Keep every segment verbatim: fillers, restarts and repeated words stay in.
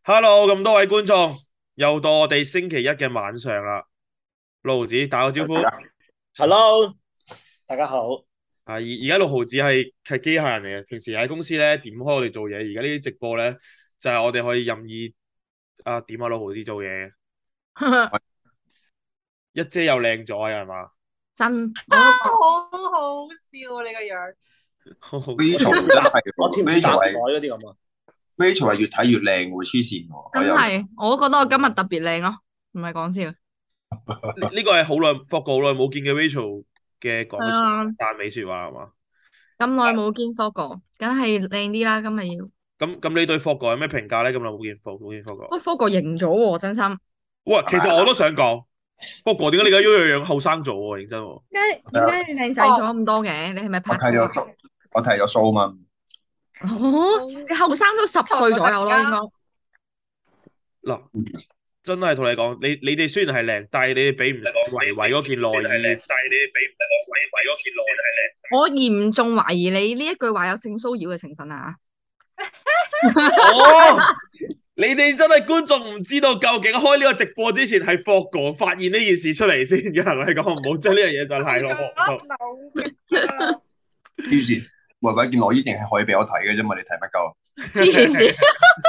Hello，咁多位觀眾，又到我哋星期一嘅晚上啦。六毫子打個招呼。 Hello，大家好。 啊，而而家六毫子係係機械人嚟嘅，平時喺公司咧點開我哋做嘢，而家呢啲直播咧就係、是、我哋可以任意啊點下六毫子做嘢。一姐又靚咗啊，係嘛？ 真， 啊， 我都好好笑啊！你個樣， 好好笑。 Rachel 真係我似唔似搭台嗰啲咁啊？Rachel 係越睇越靚喎，黐線喎！ 真係，我都覺得我今日特別靚咯，唔係講笑。 呢呢個係好耐，霍哥好耐冇見嘅 Rachel 嘅講嘅說係啊， 讚美說話係嘛？ 咁耐冇見科哥，梗係靚啲啦，今日要。 咁咁你對霍哥有咩評價咧？咁耐冇見霍冇見霍哥。 喂，科哥型咗喎，真心。 喂，其實我都想講，霍哥點解你而家樣樣樣後生咗喎？認真喎。 點解點解你靚仔咗咁多嘅？你係咪我拍拖啊？ 睇咗數，我睇咗數嘛。 哦，你後生咗十歲左右咯，應該。 嗱，真係同你講，你你哋雖然係靚，但係你哋比唔上維維嗰件內衣。但係你哋比唔上維維嗰件內衣。 我嚴重懷疑你呢一句話有性騷擾嘅成分啊！ 哦，你哋真係觀眾唔知道究竟開呢個直播之前係霍哥發現呢件事出嚟先嘅，係咪講唔好將呢樣嘢就係落腦於是維維件內衣定係可以俾我睇嘅啫嘛？你睇乜鳩？ 黐線！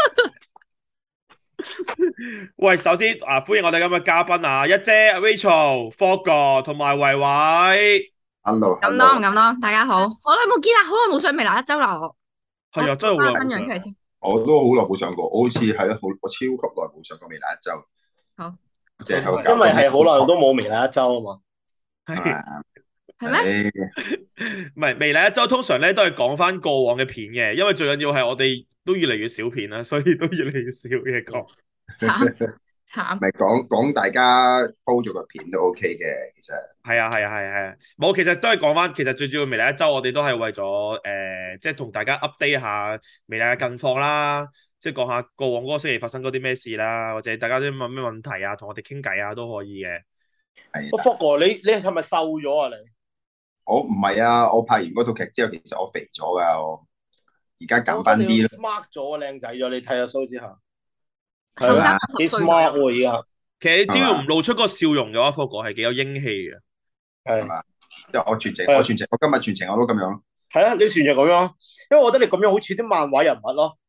喂，首先啊，歡迎我哋今日嘉賓啊，一姐 Rachel、霍哥同埋維維。 Hello， 咁多唔咁多，大家好，好耐冇見啦，好耐冇上微辣一周啦，我係啊，真係好耐分冇上。 享佢先。 我都好耐冇上過，我好似係咯，好我超級耐冇上過微辣一周。 好， 淨係喺度因為係好耐都冇微辣一周啊嘛。 係係咩？ 唔係微辣一周通常咧都係講翻過往嘅片嘅，因為最緊要係我哋都越嚟越少片啦，所以都越嚟越少嘢講。 慘慘。 咪講講大家鋪咗個片都 OK 嘅，其實係啊係啊係啊係啊，冇其實都係講翻，其實最主要微辣一周我哋都係為咗誒、呃，即係同大家 update 下微辣嘅近況啦，即係講下過往嗰個星期發生嗰啲咩事啦，或者大家都問咩問題啊，同我哋傾偈啊都可以嘅。 係。 我福哥，你你係咪瘦咗啊？你我唔係啊，我拍完嗰套劇之後，其實我肥咗噶，我而家減翻啲啦。 smart 咗，靚仔咗，你睇下 show 之後， 後生幾十歲 smart 喎而家。 其實你只要唔露出個笑容嘅話，霍哥係幾有英氣嘅。 係嘛？即係我全程， 係我全程，我今日全程我都咁樣。 係啊，你全就咁樣，因為我覺得你咁樣好似啲漫畫人物咯。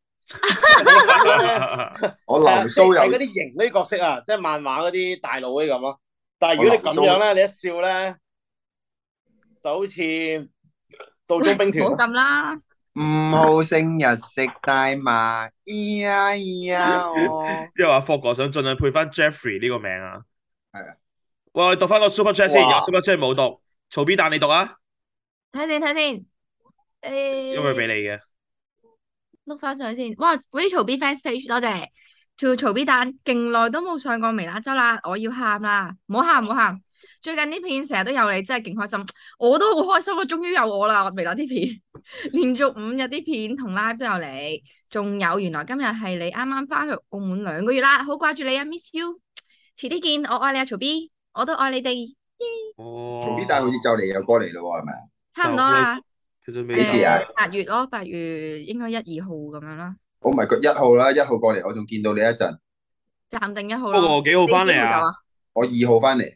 我流蘇有係嗰啲型嗰啲角色啊，即係漫畫嗰啲大佬嗰啲咁咯。但係如果你咁樣咧，你一笑咧，就好似道中兵團唔好咁啦。 唔好成日食大麻，咿呀咿呀哦。 即係話霍哥想盡量配翻 Jeffrey 呢個名啊。 係啊。 喂，我哋讀翻個 Super Chat 先， 哇有 Super Chat 冇讀，曹 B 蛋你讀啊， 睇先睇先， 因為俾誒， 你嘅。 碌翻上去先。哇，Rachel B fans page 多謝。To 曹 B 蛋，勁耐都冇上過微辣周啦，我要喊啦！唔好喊唔好喊，最近啲片成日都有你，真係勁開心。我都好開心啊，終於有我啦！微辣啲片，連續五日啲片同 live 都有你，仲有原來今日係你啱啱翻去澳門兩個月啦，好掛住你啊，miss you。遲啲見，我愛你啊，曹 B，我都愛你哋。 哦， 曹 B 蛋好似就嚟又過嚟咯喎，係咪啊？ 差唔多啦。 其實未幾時啊？ 八月咯，八月應該一二號咁樣啦。 我唔係佢一號啦，一號過嚟，我仲見到你一陣。 暫定一號不咯。 過幾號翻嚟你幾號走啊？ 啊？ 我二號翻嚟。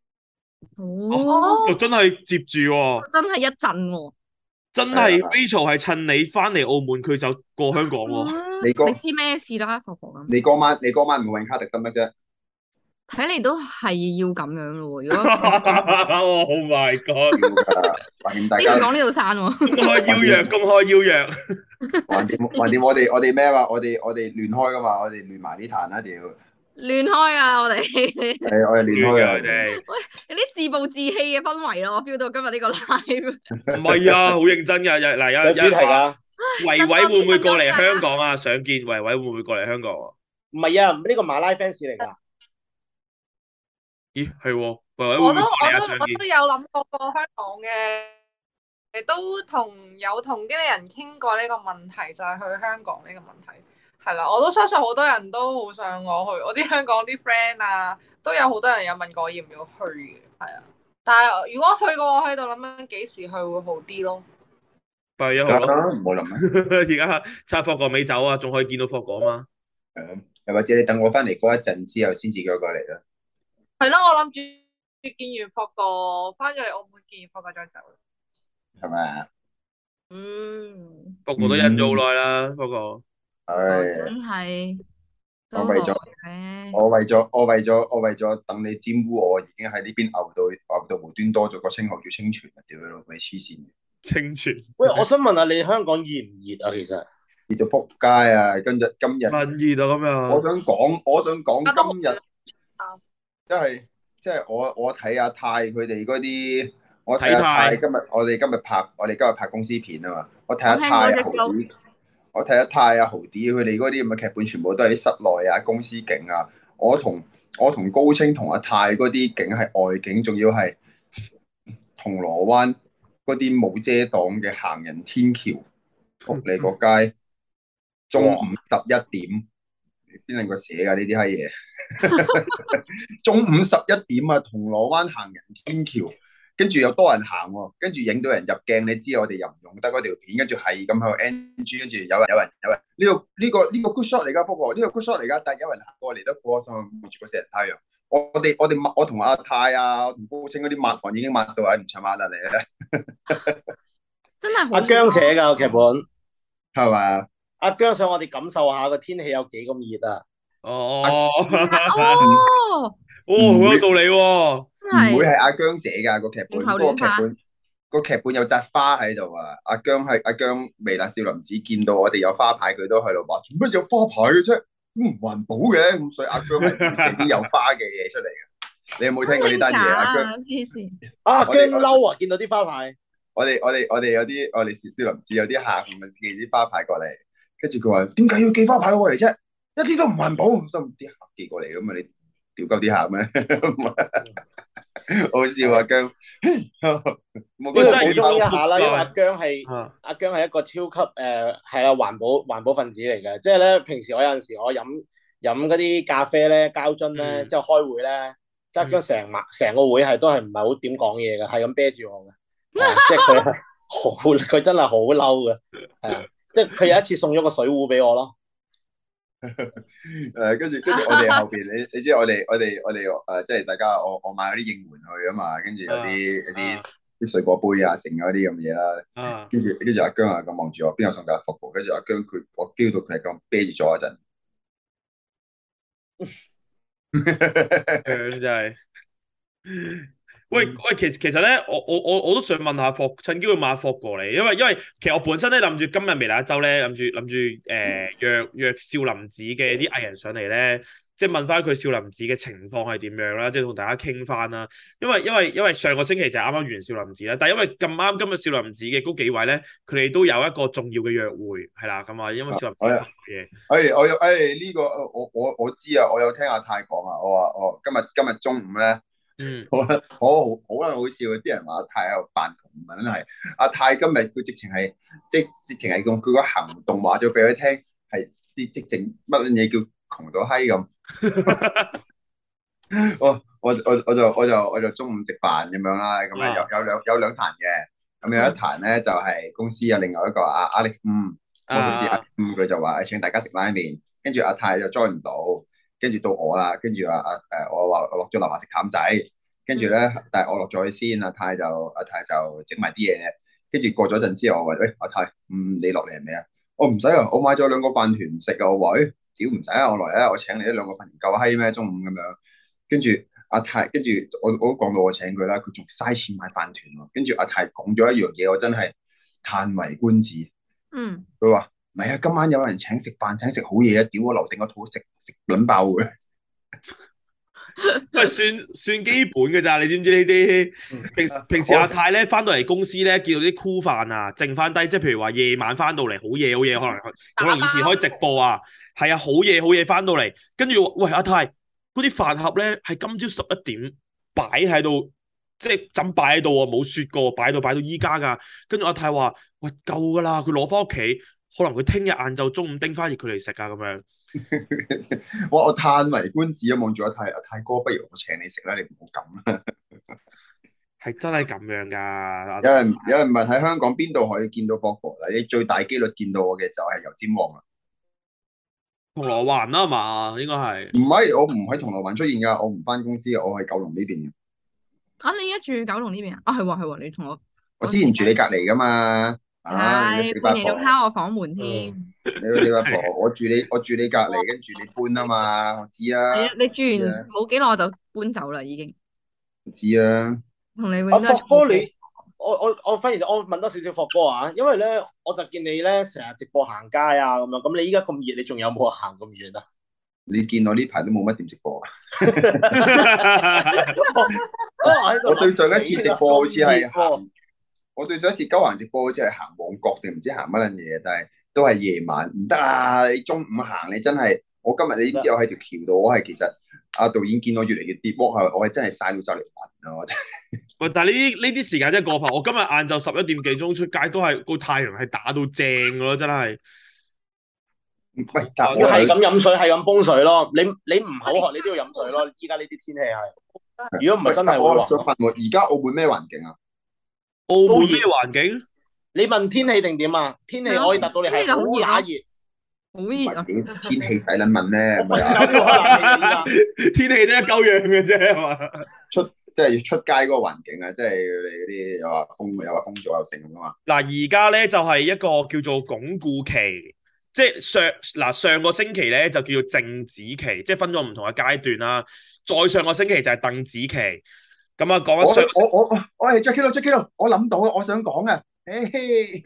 哦， 就真係接住喎， 真係一陣喎。 真係 Rachel 係趁你翻嚟澳門，佢就過香港喎。 嗯你嗰你知咩事啦，婆婆咁。 你嗰晚你嗰晚唔會揾卡特得乜啫？ 睇嚟都係要咁樣咯喎。如果 Oh my god！ 要㗎，橫掂大家呢度講呢度散喎。 公開邀約，公開邀約。 橫掂橫掂，我哋我哋咩話？我哋我哋亂開噶嘛，我哋亂埋呢壇啦，屌！ 亂開啊！我哋係我哋亂開啊！ 有啲自暴自棄嘅氛圍咯，我 feel 到今日呢個 live。 唔係啊，好認真㗎。有嗱有有主題㗎。 維維會唔會過嚟香港啊？想見維維會唔會過嚟香港啊？ 唔係啊，呢個馬拉 fans 嚟㗎。 咦，係喎，維維會唔我都會過嚟啊？ 我都我想見。 都有諗過過香港嘅，都同有同經理人傾過呢個問題，就係去香港呢個問題。係啦，我都相信好多人都好想我去，我啲香港啲 friend 啊，都有好多人有問過我要唔要去嘅，係啊。但係如果去過，我喺度諗緊幾時去會好啲咯。 八月一號咯， 唔好諗啦。 而家趁霍哥未走啊，仲可以見到霍哥啊嘛。 係啊， 又或者你等我翻嚟嗰一陣之後先至叫我過嚟啦， 係咯，我諗住見完霍哥，翻咗嚟澳門見完霍哥再走。 係咪啊？ 嗯， 不過都忍咗好耐啦，不過我唉， 真係我為咗都耐嘅。 我為咗我為咗我為咗等你沾污我，已經喺呢邊牛到牛到無端多咗個稱號叫清泉啊！屌你老味黐線嘅， 清泉喂，我想問下你香港熱唔熱啊？其實熱到撲街啊！今日今日乜熱啊咁我樣， 想講，我想講而家都今日即係即係我我睇阿泰佢哋嗰啲，我睇阿睇泰泰今日我哋今日拍我哋今日拍公司片啊嘛，我睇阿我聽泰阿豪過隻歌， 啲，我睇阿泰阿豪啲佢哋嗰啲咁嘅劇本，全部都係啲室內啊公司景啊，我同我同高清同阿泰嗰啲景係外景，仲要係銅鑼灣嗰啲冇遮擋嘅行人天橋，仆你個街，中午十一點，邊兩個寫㗎呢啲閪嘢？中午十一點啊，銅鑼灣行人天橋，跟住又多人行喎，跟住影到人入鏡，你知我哋又唔用得嗰條片，跟住係咁喺度 N G，跟住有人有人有人呢個呢個呢個 good shot 嚟㗎，不過呢個 good shot 嚟㗎，但係有人行過嚟得過心，望住個死人太陽。我我哋我哋抹我同阿泰啊，我同高清嗰啲抹汗已經抹到係唔出抹啦你咧， 真係好阿姜寫㗎個劇本， 係咪？ 阿姜想我哋感受下個天氣有幾咁熱啊！ 哦哦， 哦，好有道理喎， 真係唔會係阿姜寫㗎個劇本， 亂口嗰個亂花。 劇本個劇本有扎花喺度啊！阿姜係阿姜微辣少林寺見到我哋有花牌，佢都喺度話做乜有花牌嘅啫？唔環保嘅，咁所以阿姜係會寫啲有花嘅嘢出嚟嘅。你有冇聽過呢單嘢？阿姜， 黐線， 啊， 我哋姜嬲啊！見到啲花牌， 我哋我哋我哋有啲我哋少林寺有啲客咁啊寄啲花牌過嚟，跟住佢話點解要寄花牌過嚟啫？一啲都唔環保，心啲客寄過嚟咁啊！你屌鳩啲客咩？好笑啊姜！我呢個覺得補充一下啦，因為阿啊姜係阿姜係一個超級誒係啊環保環保分子嚟嘅，即係咧平時我有陣時我飲飲嗰啲咖啡咧膠樽咧， 嗯之後開會咧，即係阿姜成晚成個會係都係唔係好點講嘢嘅，係咁啤住我嘅，係啊即係佢係好佢真係好嬲嘅，係啊，即係佢有一次送咗個水壺俾我咯。 誒，跟住跟住我哋後邊，你你知我哋我哋我哋誒，即係大家我我買嗰啲應援去啊嘛，跟住有啲有啲啲水果杯啊，剩嗰啲咁嘢啦， 啊， 跟住跟住阿姜啊咁望住我，邊有送架服務？跟住阿姜佢我 feel 到佢係咁啤住咗一陣， 姜真係。喂喂，其實其實咧，我我我我都想問下霍，趁機會問下霍過嚟，因為因為其實我本身咧諗住今日微辣一周咧，諗住諗住誒約約少林寺嘅啲藝人上嚟咧，即係問翻佢少林寺嘅情況係點樣啦，即係同大家傾翻啦。因為因為因為上個星期就係啱啱完少林寺啦，但係因為咁啱今日少林寺嘅嗰幾位咧，佢哋都有一個重要嘅約會，係啦咁啊，因為少林寺嘅嘢。 誒我有誒呢個我我我知啊，我有聽阿泰講啊，我話我今日今日中午咧。 嗯， 好啦，好好啦，好笑嘅，啲人話阿泰喺度扮窮，唔係真係。阿泰今日佢直情係，即直情係用佢個行動話咗俾佢聽，係啲直情乜嘢叫窮到閪咁。我我我我就我就我就中午食飯咁樣啦，咁啊有有兩有兩壇嘅，咁有一壇咧就係公司有另外一個阿 Alex 嗯，魔術師阿嗯佢就話請大家食拉麵，跟住阿泰就 join 唔到。跟住到我啦，跟住阿阿誒我話我落咗樓下食淡仔，跟住咧，但係我落咗去先，阿泰就阿泰就整埋啲嘢，跟住過咗陣之後，我話喂阿泰，嗯你落嚟係咪啊？我唔使啊，我買咗兩個飯團食啊，我話誒屌唔使啊，我來啊，我請你一兩個飯團夠閪咩？中午咁樣，跟住阿泰，跟住我我都講到我請佢啦，佢仲嘥錢買飯團喎，跟住阿泰講咗一樣嘢，我真係歎為觀止， 嗯， 佢話。唔係啊！今晚有人請食飯，請食好嘢啊！屌我留定個肚食食撚爆嘅。 喂，算算基本嘅咋？你知唔知呢啲？平時平時阿泰咧翻到嚟公司咧，見到啲箍飯啊，剩翻低，即係譬如話夜晚翻到嚟好夜好夜，可能可能以前開直播啊，係啊，好夜好夜翻到嚟，跟住喂阿泰嗰啲飯盒咧係今朝十一點擺喺度，即係浸擺喺度喎，冇雪過，擺到擺到依家㗎。跟住阿泰話：喂夠㗎啦，佢攞翻屋企。可能佢聽日晏晝中午叮翻熱佢嚟食啊咁樣。 我我歎為觀止啊，望住阿泰阿泰哥，不如我請你食啦，你唔好咁啦。 係真係咁樣㗎。 有人有人問喺香港邊度可以見到博哥嗱？你最大機率見到我嘅就係油尖旺啦。 銅鑼灣啦嘛，應該係。 唔係，我唔喺銅鑼灣出現㗎，我唔翻公司，我喺九龍呢邊嘅。 啊，你而家住九龍呢邊啊？啊，係喎係喎，你同我我之前住你隔離㗎嘛。啊，你個係死八婆半夜仲，敲我房門添。 你個死八婆，我住你我住你隔離，跟住你搬啊嘛，我知係啊， 啊，你住完知啊， 冇幾耐我就搬走啦，已經。 我知啊。 同你永阿遠都係霍哥你，我我我反而我問多少少霍哥啊，因為咧我就見你咧成日直播行街啊咁樣，咁你依家咁熱，你仲有冇行咁遠啊？ 你見我呢排都冇乜點直播啊？ 我我對上一次直播好似係行，我對上一次鳩行直播好似係行旺角定唔知行乜撚嘢，但係都係夜晚，唔得啊！你中午行你真係，我今日你知我喺條橋度，我係其實阿導演見我越嚟越跌喎，係我係真係曬到就嚟暈啊！我真係。 喂，但係呢啲呢啲時間真係過分。我今日晏晝十一點幾鐘出街，都係個太陽係打到正㗎咯，真係。 喂，但要係咁飲水，係咁泵水咯。你你唔口渴，你都要飲水咯。依家呢啲天氣係，如果唔係真係我會暈。 想問喎，而家澳門咩環境啊？ 澳門咩環境？ 你問天氣定點啊？天氣可以答到你係好乸熱， 好熱啊！ 屌天氣使撚問咩？ 我瞓覺都要開冷氣㗎依家。 天氣都一鳩樣嘅啫，係嘛？ 出即係出街嗰個環境啊，即係你嗰啲又話風又話風阻又成咁啊嘛。 嗱，而家咧就係一個叫做鞏固期，即係上嗱上個星期咧就叫做靜止期，即係分咗唔同嘅階段啦。再上個星期就係鄧紫期。咁啊，講緊我上我我我我係 Jackie 咯 Jackie 咯，我諗到啊，我想講啊，誒嘿，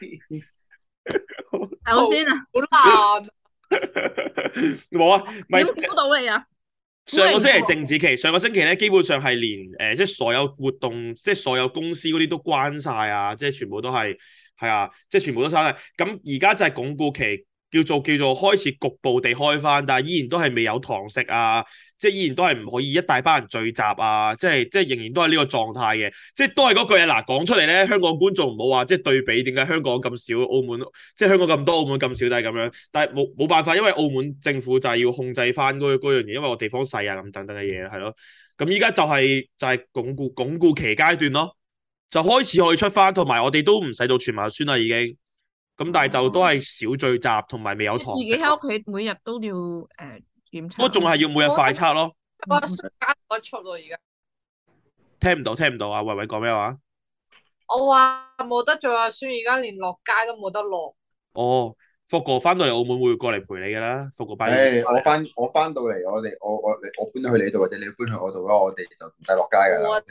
首先啊， 好難。 冇啊，咪點估到你啊？ 上個星期係靜止期，上個星期咧基本上係連誒、呃、即係所有活動，即係所有公司嗰啲都關晒啊，即係全部都係係啊，即係全部都閂晒。咁而家就係鞏固期，叫做叫做開始局部地開翻，但係依然都係未有堂食啊，即係依然都係唔可以一大班人聚集啊，即係即係仍然都係呢個狀態嘅，即係都係嗰句啊嗱，講出嚟咧，香港觀眾唔好話即係對比點解香港咁少，澳門即係香港咁多，澳門咁少都係咁樣，但係冇冇辦法，因為澳門政府就係要控制翻嗰嗰樣嘢，因為我地方細啊咁等等嘅嘢係咯，咁依家就係就係鞏固鞏固期階段咯，就開始可以出翻，同埋我哋都唔使到全民核酸啦已經。咁但係就都係少聚集，同埋未有堂食。 自己喺屋企每日都要誒檢測。 不過仲係要每日快測咯。 我瞬間我出咯而家。 聽唔到，聽唔到啊！維維講咩話？ 我話冇得做核酸，而家連落街都冇得落。 哦，霍哥翻到嚟澳門會過嚟陪你噶啦，霍哥班。 誒，我翻我翻到嚟，我哋我我我搬咗去你度，或者你搬去我度咯，我哋就唔使落街噶啦。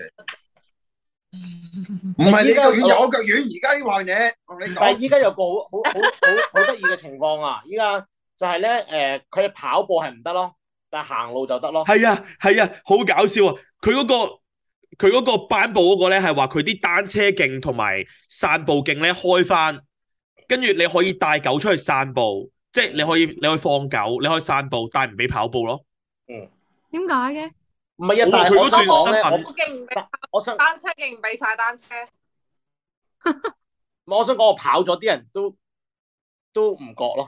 唔係你腳軟就我腳軟，而家呢樣嘢同你講。 但係依家有個好好好好好得意嘅情況啊！依家就係咧誒，佢哋跑步係唔得咯，但係行路就得咯。 係啊係啊，好搞笑啊！佢嗰個佢嗰個頒布嗰個咧係話佢啲單車徑同埋散步徑咧開翻，跟住你可以帶狗出去散步，即係你可以你可以放狗，你可以散步，但係唔俾跑步咯。 嗯， 點解嘅？ 唔係啊，但係我想講咧，我我勁唔俾我想單車勁唔俾踩單車。 我想講我跑咗啲人都都唔覺咯。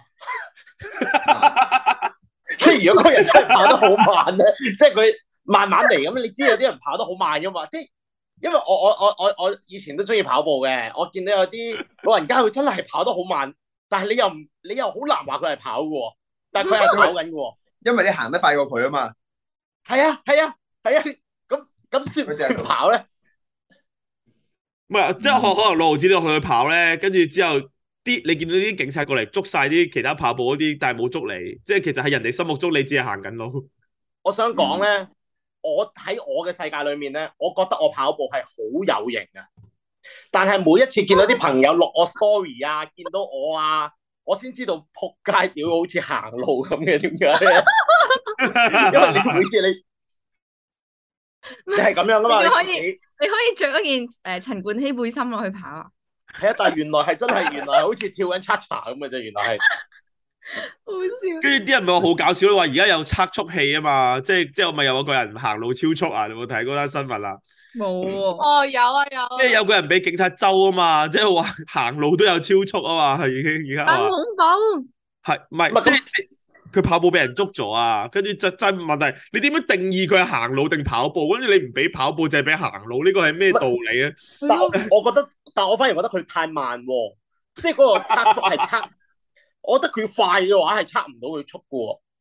即係如果嗰個人真係跑得好慢咧，即係佢慢慢嚟咁，你知有啲人跑得好慢噶嘛？即係因為我我我我我以前都中意跑步嘅，我見到有啲老人家佢真係跑得好慢，但係你又唔你又好難話佢係跑嘅，但係佢係跑緊嘅。 因為你行得快過佢啊嘛。 係啊係啊係啊，咁咁算唔算跑咧？ 唔係，即係可可能六毫子都去跑咧，跟住之後啲你見到啲警察過嚟捉晒啲其他跑步嗰啲，但係冇捉你，即係其實喺人哋心目中你只係行緊路。 我想講咧，嗯、我喺我嘅世界裏面咧，我覺得我跑步係好有型嘅，但係每一次見到啲朋友錄我 story 啊，見到我啊，我先知道仆街屌好似行路咁嘅，點解咧？因為你每次你你係咁樣噶嘛， 你可以你， 你可以着一件誒陳冠希背心落去跑啊。 係啊，但係原來係真係原來好似跳緊 cha cha 咁嘅啫，原來係好笑。 跟住啲人咪話好搞笑咯，話而家有測速器啊嘛，即係即係我咪有個人行路超速啊？你有冇睇嗰單新聞啊？ 冇喎。 哦，有啊有啊。 即係有個人俾警察周啊嘛，即係話行路都有超速啊嘛，係已經而家話。 咁恐怖。 係唔係即係？佢跑步俾人捉咗啊，跟住就真問題，你點樣定義佢係行路定跑步？跟住你唔俾跑步，就係俾行路，呢個係咩道理啊？ 但我我覺得，但我反而覺得佢太慢喎，即係嗰個測速係測，我覺得佢快嘅話係測唔到佢速嘅喎。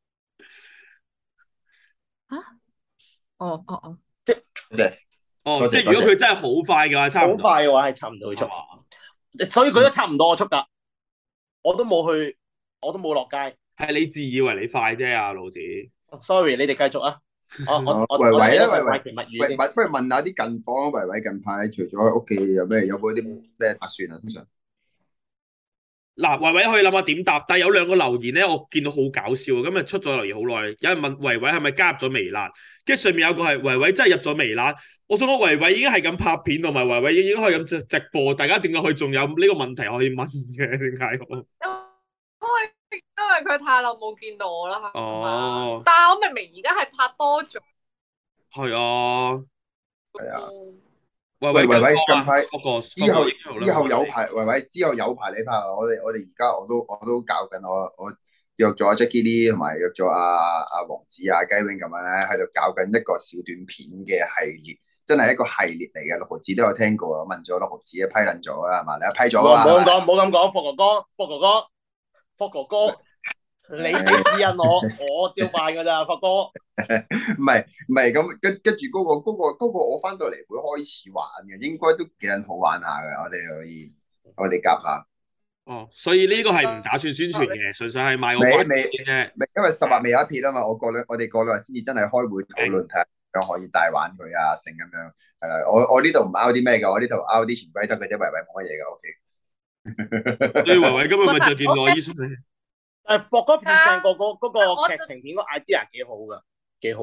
啊？哦哦哦， 即係哦， 多謝即係如果佢真係好快嘅話，差好唔多快嘅話係插唔到佢速， 係嘛？ 所以佢都插唔到我速㗎。我都冇去，我都冇落街。 係你自以為你快啫，阿盧子。 Sorry，你哋繼續啊。我我我維維咧， 我睇咗維維份怪奇物語喂， 先。 不如問下啲近況啊，維維近排除咗喺屋企有咩有冇啲咩打算啊？通常嗱，維維可以諗下點答，但係有兩個留言咧，我見到好搞笑，今日出咗留言好耐，有人問維維係咪加入咗微辣，跟住上面有個係維維真係入咗微辣，我想講維維已經係咁拍片，同埋維維已經可以咁直直播，大家點解佢仲有呢個問題可以問嘅？點解？ 因為因為佢太耐冇見到我啦，係哦嘛？但係我明明而家係拍多咗。 係啊， 係啊， 嗯維維喂維維近近排嗰個之後嗰個之後有排維維之後有排你拍啊！我哋我哋而家我都我都搞緊我我約咗阿 Jackie Lee 同埋約咗阿阿王子啊雞 wing 咁樣咧喺度搞緊一個小短片嘅系列，真係一個系列嚟嘅。六毫子都有聽過啊，問咗六毫子批撚咗啦係嘛？你批咗唔啊嘛？ 好咁講，唔好咁講，霍哥哥，霍哥哥，霍哥哥，你俾指引我，我照辦㗎咋，霍哥。 唔係唔係咁跟跟住嗰個嗰個嗰個我翻到嚟會開始玩嘅，應該都幾撚好玩下嘅。我哋可以我哋夾下。 哦，所以呢個係唔打算宣傳嘅，純粹係賣個未關子未啫。 未，因為十日未有一撇啊嘛，我過兩我哋過兩日先至真係開會討論睇下點樣可以帶玩佢啊，成咁樣係啦。我我呢度唔 out 啲咩嘅，我呢度 out 啲潛規則嘅啫，維維冇乜嘢嘅。O K。 所以維維今日咪就見內醫生咧。 誒，霍哥 present 個嗰嗰我個劇情片個 idea 幾好㗎，幾好。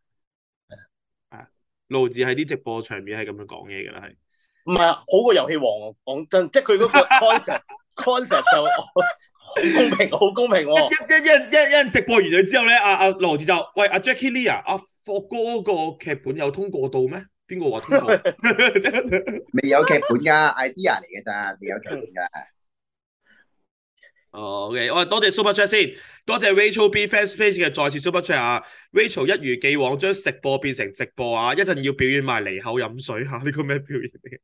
盧子喺啲直播場面係咁樣講嘢㗎啦，係。 唔係好過遊戲王，講真，即係佢嗰個 concept concept 就好公平，好公平喎。 一一一一一人直播完咗之後咧，阿阿盧子就喂阿 Jackie Lee 啊，阿霍哥嗰個劇本有通過到咩？邊個話通過？ 未有劇本㗎，idea 嚟嘅咋，未有劇本㗎。 哦，OK，我多謝 Super Chat 先，多謝 Rachel B Fans Page 嘅再次 Super Chat 啊 ！Rachel 一如既往將食播變成直播啊！一陣要表演埋離口飲水嚇，呢個咩表演嚟？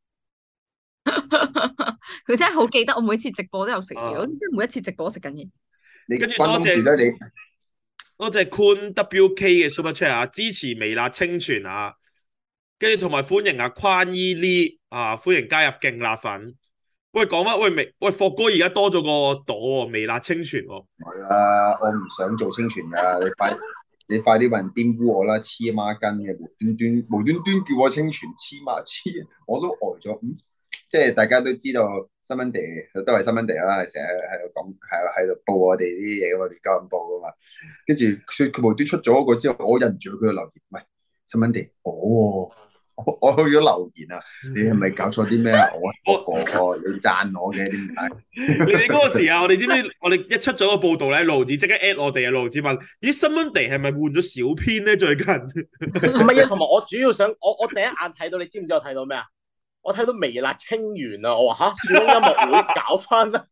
佢真係好記得，我每次直播都有食嘢， 啊我真係每一次直播都食緊嘢。 你跟住關東煮咧，你多謝 Kun W K 嘅 Super Chat 啊，支持微辣清泉啊，跟住同埋歡迎啊寬伊 Lee 啊，歡迎加入勁辣粉。喂，講翻喂微喂霍哥而家多咗個朵喎，微辣清泉喎。 係啦，我唔想做清泉㗎，你快你快啲揾玷污我啦，黐孖筋嘅無端端無端端叫我清泉黐孖黐，我都呆咗。嗯，即係大家都知道新聞地都係新聞地啦，係成日喺度講係喺度報我哋啲嘢㗎嘛，亂鳩咁報㗎嘛。跟住佢佢無端出咗嗰個之後，我忍住佢嘅留言，喂新聞地，哦。我我去咗留言啊！你係咪搞錯啲咩啊？我我我你讚我嘅點解？ 你哋嗰個時候，我哋知唔知？我哋一出咗個報道咧，盧子即刻 at 我哋啊！盧子問：咦，新聞地係咪換咗小編咧？最近唔係啊，同埋我主要想，我我第一眼睇到，你知唔知我睇到咩啊？我睇到微辣清源啊！我話吓，樹窿音樂會搞翻啦！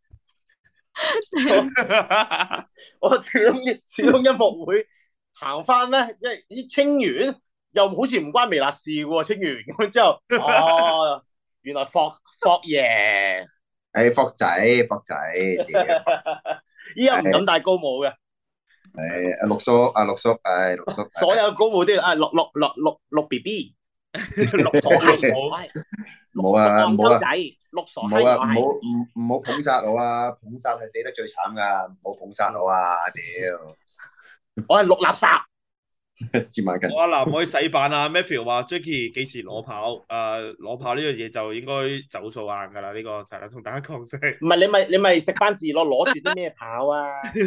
我樹窿樹窿音樂會行翻咧，因為啲清源。又好似唔關微辣事嘅喎，清完咁之後，哦，原來霍霍爺， 誒霍仔霍仔， 依家唔敢戴高帽嘅， 誒阿六叔阿六叔，誒六叔， 所有高帽都要啊六六六六六 B B， 六傻閪冇， 冇啊冇啊， 仔，六傻冇啊，唔好閪唔唔好捧殺我啊，捧殺係死得最慘噶，唔好捧殺我啊，屌， 我係六垃圾。 接埋近。 我阿男可以洗版啊 ！Matthew 話 Jackie 幾時攞跑？誒、呃、攞跑呢樣嘢就應該走數硬㗎啦，呢、這個就係同大家講聲。 唔係你咪你咪食翻字咯，攞住啲咩跑啊？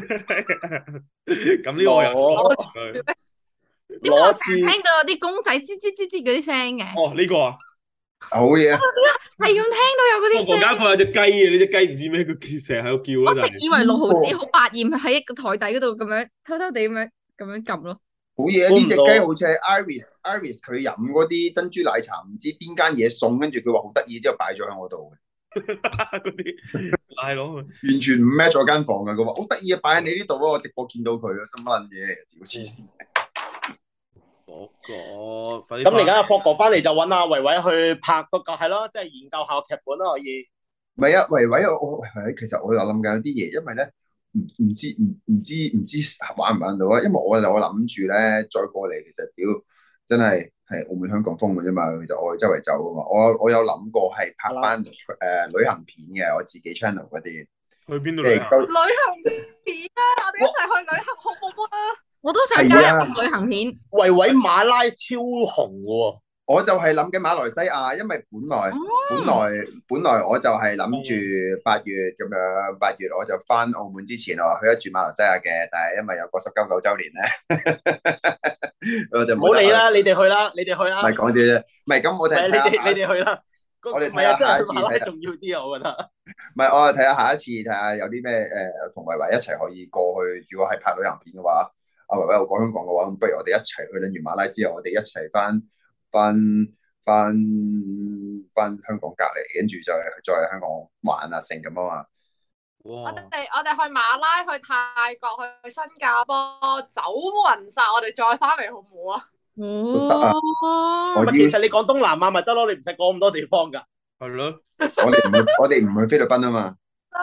咁呢個我又攞住佢。 點解我成日聽到有啲公仔吱吱吱吱嗰啲聲嘅？ 哦，呢、這個啊， 好嘢啊！ 係咁聽到有嗰啲聲。 我間房有隻雞嘅，呢隻雞唔知咩，佢成日喺度叫我咯。 直以為六毫子好百厭，喺一個台底嗰度咁樣偷偷地咁樣咁樣撳咯。 好嘢！呢隻雞好似係 Iris Iris 佢飲嗰啲珍珠奶茶，唔知邊間嘢送，跟住佢話好得意，之後擺咗喺我度嘅。 嗰啲係咯， 完全唔 match 咗間房嘅。佢話好得意啊，擺喺你呢度啊！我直播見到佢啊，心乜嘢？屌黐線！ 嗰個咁而家霍哥翻嚟就揾阿維維去拍嗰個係咯，即係研究下劇本啦，可以。 唔係啊，維維我維維其實我有諗緊有啲嘢，因為咧唔唔知唔唔知唔知玩唔玩到啊？因為我就我諗住咧再過嚟，其實屌真係係澳門香港風嘅啫嘛。其實我周圍走啊嘛，我我有諗過係拍翻誒、呃、旅行片嘅，我自己 channel 嗰啲。 去邊度即係旅行？ 旅行片啊！我哋一齊去旅行好唔好啊？ 我都想加入旅行片。 維維馬拉超紅嘅喎。 我就係諗緊馬來西亞，因為本來、 哦、 本來本來我就係諗住八月咁樣，八月我就翻澳門之前，我話去一轉馬來西亞嘅，但係因為有個十九九週年咧，我就唔好理啦，你哋去啦，你哋去啦。 唔係講笑啫，唔係咁我哋你哋你哋去啦。 我哋唔係啊，真睇下下一次係馬拉重要啲啊，我覺得。 唔係我哋睇下下一次，睇下有啲咩誒同維維一齊可以過去。如果係拍旅行片嘅話，阿維維我講香港嘅話，咁不如我哋一齊去撚完馬拉之後，我哋一齊翻翻翻翻香港隔離，跟住再再喺香港玩啊成咁啊嘛。 我哋我哋去馬拉、去泰國、去新加坡，走勻晒，我哋再翻嚟好唔好啊？ 哦， 我其實你講東南亞咪得咯，你唔使講咁多地方㗎。 係咯， 我哋唔去，我哋唔去菲律賓啊嘛。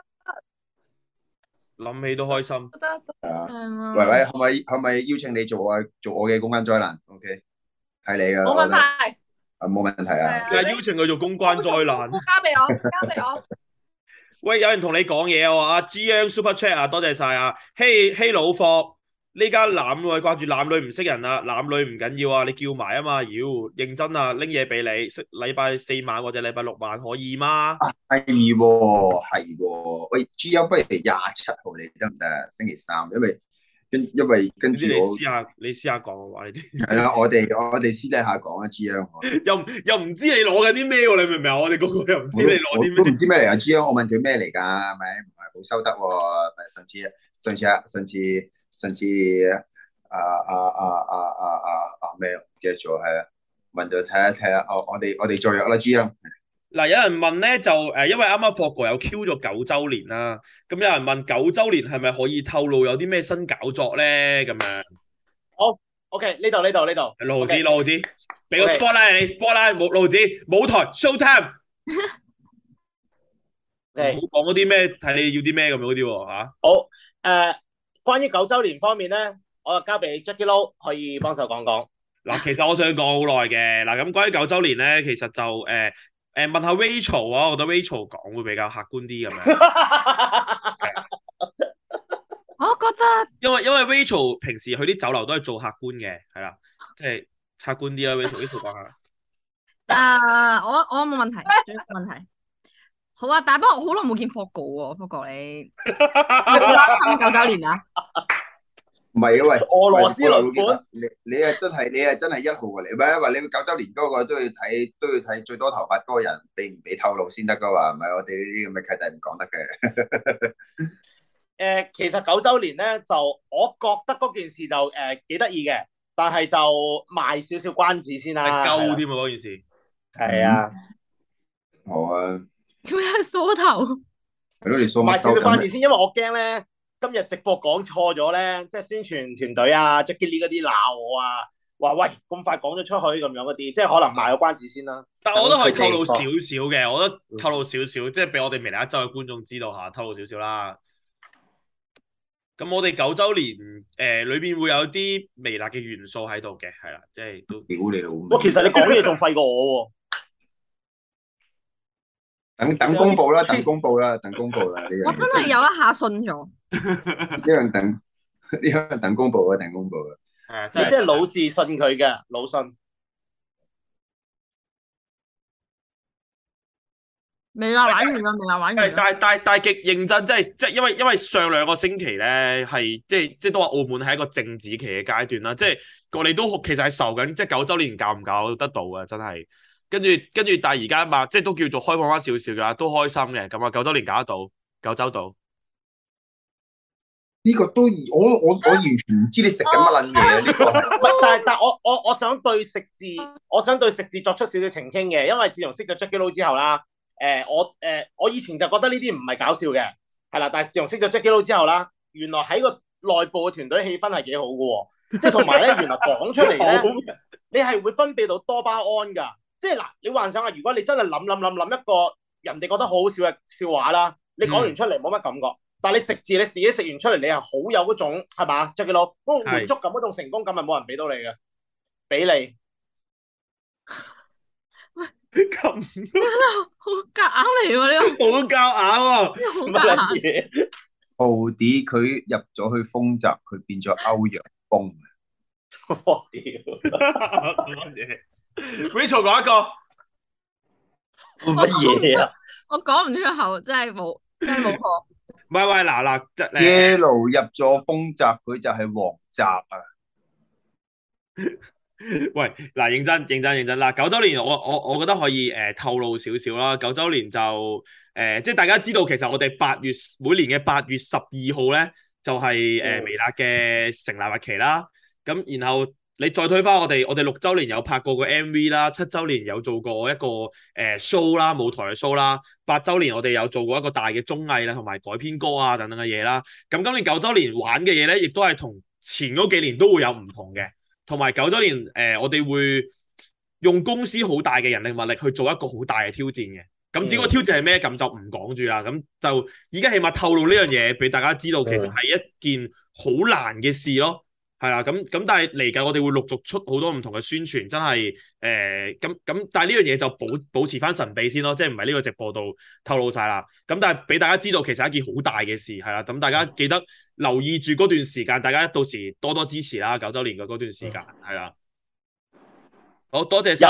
諗起都開心。 得得。 係啊， 係維維可唔可以可唔可以邀請你做我做我嘅公關災難 ？OK，係你㗎。 冇問題。 啊，冇問題啊。 但係邀請佢做公關災難。 交俾我，交俾我。 喂，有人同你講嘢喎，阿 G Super Chat 啊，多謝晒啊。嘿嘿老霍，呢家男女掛住男女唔識人啊，男女唔緊要啊，你叫埋啊嘛，妖認真啊，拎嘢俾你，識禮拜四晚或者禮拜六晚可以嗎？ 係喎，係喎。喂 ，G M 不如廿七號你得唔得？星期三，因為跟因為跟住你我試下，你試下講嘅話，呢啲係啦，我哋我哋私底下講啊，G M。 又又唔知你攞緊啲咩喎？你明唔明啊？我哋個個又唔知你攞啲咩。 都唔知咩嚟啊！G M，我問佢咩嚟㗎？係咪唔係好收得喎？咪上次上次啊上次上次啊啊啊啊啊啊啊咩？唔記得咗係啊，問咗睇下睇下，我我哋我哋再約啦，G M。 嗱，有人問咧就誒，因為啱啱霍哥有 Q 咗九週年啦，咁有人問九週年係咪可以透露有啲咩新搞作咧？咁樣。 好 ，OK，呢度呢度呢度。 六毫子，六毫子，俾個 spotlight 你 spotlight 冇六毫子，舞台 show time。唔好講嗰啲咩，睇你要啲咩咁樣嗰啲喎嚇。 好，誒，關於九週年方面咧，我就交俾 Jacky Lou 可以幫手講講。 嗱，其實我想講好耐嘅，嗱咁關於九週年咧，其實就誒。誒問下 Rachel 啊，我覺得 Rachel 講會比較客觀啲咁樣。 我覺得， 因為因為 Rachel 平時去啲酒樓都係做客觀嘅，係啦，即係客觀啲啦。Rachel，Rachel 講下。 誒，我我冇問題，冇問題。好啊，但係不過我好耐冇見霍哥喎，霍哥你啱九週年啊？ 唔係啊，喂， 俄羅斯輪盤， 你你係真係你係真係一號嚟，唔係因為你個九週年嗰個都要睇都要睇最多頭髮嗰個人俾唔俾透露先得噶嘛，唔係我哋呢啲咁嘅契弟唔講得嘅。 誒，其實九週年咧就我覺得嗰件事就誒幾得意嘅，但係就賣少少關子先啦。 係鳩添啊嗰件事。 係啊。 好啊。 做咩梳頭？ 係咯，你梳賣少少關子先，因為我驚咧。今日直播講錯咗咧，即係宣傳團隊啊 Jacky Lee 嗰啲鬧我啊，話喂咁快講咗出去咁樣嗰啲，即係可能賣個關子先啦。 但係我都可以透露少少嘅，我覺得透露少少，即係俾我哋微辣一周嘅觀眾知道下，透露少少啦。咁我哋九週年誒裏邊會有啲微辣嘅元素喺度嘅，係啦，即係都屌你老母！ 哇，其實你講嘢仲廢過我喎。 等等公佈啦，等公佈啦，等公佈啦！呢樣我真係有一下信咗。 呢樣等呢樣等公佈啊，等公佈啊！ 你即係老是信佢嘅，老信。 未啦，玩完啦，未啦，玩完。 但係但係但係極認真，即係即係因為因為上兩個星期咧係即係即係都話澳門係一個政治期嘅階段啦，即係我哋都其實係受緊即係九週年搞唔搞得到嘅，真係。跟住跟住，但係而家嘛，即係都叫做開放翻少少嘅，都開心嘅。咁啊，九週年搞得到，九州到。 呢個都我我我完全唔知你食緊乜撚嘢啊！呢個唔係，但係但係我我我想對食字，我想對食字作出少少澄清嘅，因為自從識咗 Jacky Lou 之後啦，誒、呃、我誒、呃、我以前就覺得呢啲唔係搞笑嘅，係啦，但係自從識咗 Jacky Lou 之後啦，原來喺個內部嘅團隊氣氛係幾好嘅喎，即係同埋咧，原來講出嚟咧，你係會分泌到多巴胺㗎。即係嗱，你幻想下，如果你真係諗諗諗諗一個人哋覺得好好笑嘅笑話啦，你講完出嚟冇乜感覺， 但係你食字你自己食完出嚟，你係好有嗰種係嘛？就叫做嗰個滿足感、嗰種成功感，係冇人俾到你嘅，俾你。 咁好夾硬嚟喎呢個， 好夾硬喎， 好乜夾硬。 嘢？ 豪啲佢入咗去豐澤，佢變咗歐陽鋒。 我屌！ Rachel 講一個。 乜嘢啊？ 我講唔出口，真係冇，真係冇學。 唔係喂，嗱嗱，即係誒 Yellow 入咗豐澤，佢就係黃澤啊！ 喂，嗱，認真認真認真嗱，九周年我我我覺得可以誒、呃、透露少少啦。九周年就誒、呃，即係大家知道，其實我哋八月每年嘅八月十二號咧，就係、是、誒、呃、微辣嘅成立日期啦。咁然後你再推翻我哋，我哋六周年有拍過個 M V 啦，七周年有做過一個誒、呃、show 啦，舞台嘅 show 啦，八周年我哋有做過一個大嘅綜藝啦，同埋改編歌啊等等嘅嘢啦。咁今年九周年玩嘅嘢咧，亦都係同前嗰幾年都會有唔同嘅。同埋九周年，誒、呃，我哋會用公司好大嘅人力物力去做一個好大嘅挑戰嘅。咁至於個挑戰係咩，咁就唔講住啦。咁就而家起碼透露呢樣嘢俾大家知道，其實係一件好難嘅事咯。係啦，咁咁但係嚟緊我哋會陸續出好多唔同嘅宣傳，真係誒咁咁。但係呢樣嘢就保保持翻神秘先咯，即係唔係呢個直播度透露晒啦。咁但係俾大家知道，其實係一件好大嘅事，係啦。咁大家記得留意住嗰段時間，大家到時多多支持啦。九周年嘅嗰段時間係啦。好多謝晒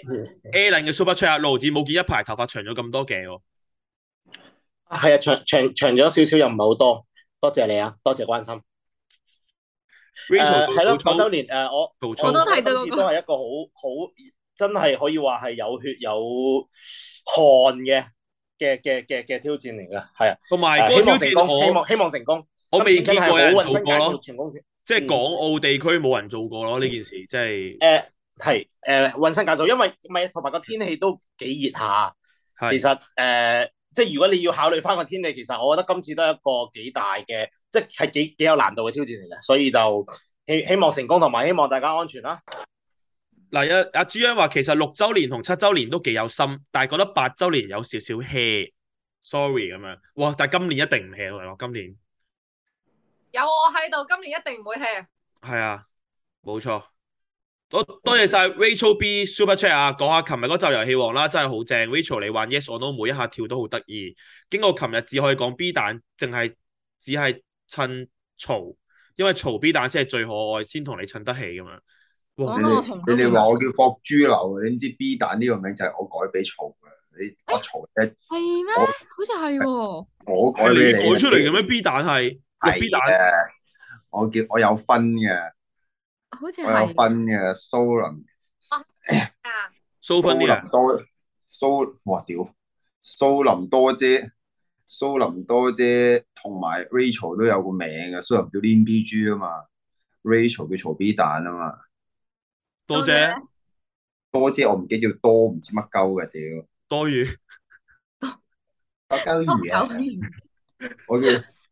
Alan 嘅 Super Chat，盧子冇見一排頭髮長咗咁多嘅喎。 係啊，長長長咗少少又唔係好多，多謝你啊，多謝關心。誒係咯，九周年誒、呃、我我都睇到嗰個都係一個好好真係可以話係有血有汗嘅嘅嘅嘅嘅挑戰嚟㗎，係啊， 同埋誒嗰個挑戰我希望希望成功， 我未見過有人做過今次真係好咯運新， 即係港澳地區冇人做過咯呢件事，即係誒係誒運新解數，因為唔係同埋個天氣都幾熱下， 係其實誒。呃即係如果你要考慮翻個天氣，其實我覺得今次都係一個幾大嘅，即係幾幾有難度嘅挑戰嚟嘅，所以就希希望成功，同埋希望大家安全啦。 嗱，阿阿朱茵話其實六週年同七週年都幾有心，但係覺得八週年有少少 hea，sorry 咁樣。哇！但係今年一定唔 hea 喎，今年有我喺度，今年一定唔會 hea。 係啊，冇錯。多多謝晒 Rachel B Super Chat 啊，講下琴日嗰集遊戲王啦，真係好正。Rachel 你玩 Yes or No 每一下跳都好得意。經過琴日只可以講 B 蛋，淨係只係襯嘈，因為嘈 B 蛋先係最可愛，先同你襯得起咁樣。哇！ 你哋你哋話我叫霍豬流，你唔知 B 蛋呢個名就係我改俾嘈嘅。你我嘈咧係咩？好似係喎。 我改係你俾你改出嚟嘅咩 B 蛋係？ 係 B 蛋嘅，我叫我有分嘅。 好似我有係。 分嘅蘇林啊， 蘇芬啲啊， 多蘇哇屌蘇林多姐，蘇林多姐同埋 Rachel 都有個名嘅，蘇林叫 Lin B G 啊嘛 ，Rachel 叫曹 B 蛋啊嘛， 多謝多姐我唔記得叫多唔知乜鳩嘅屌， 多餘多鳩魚啊，我叫。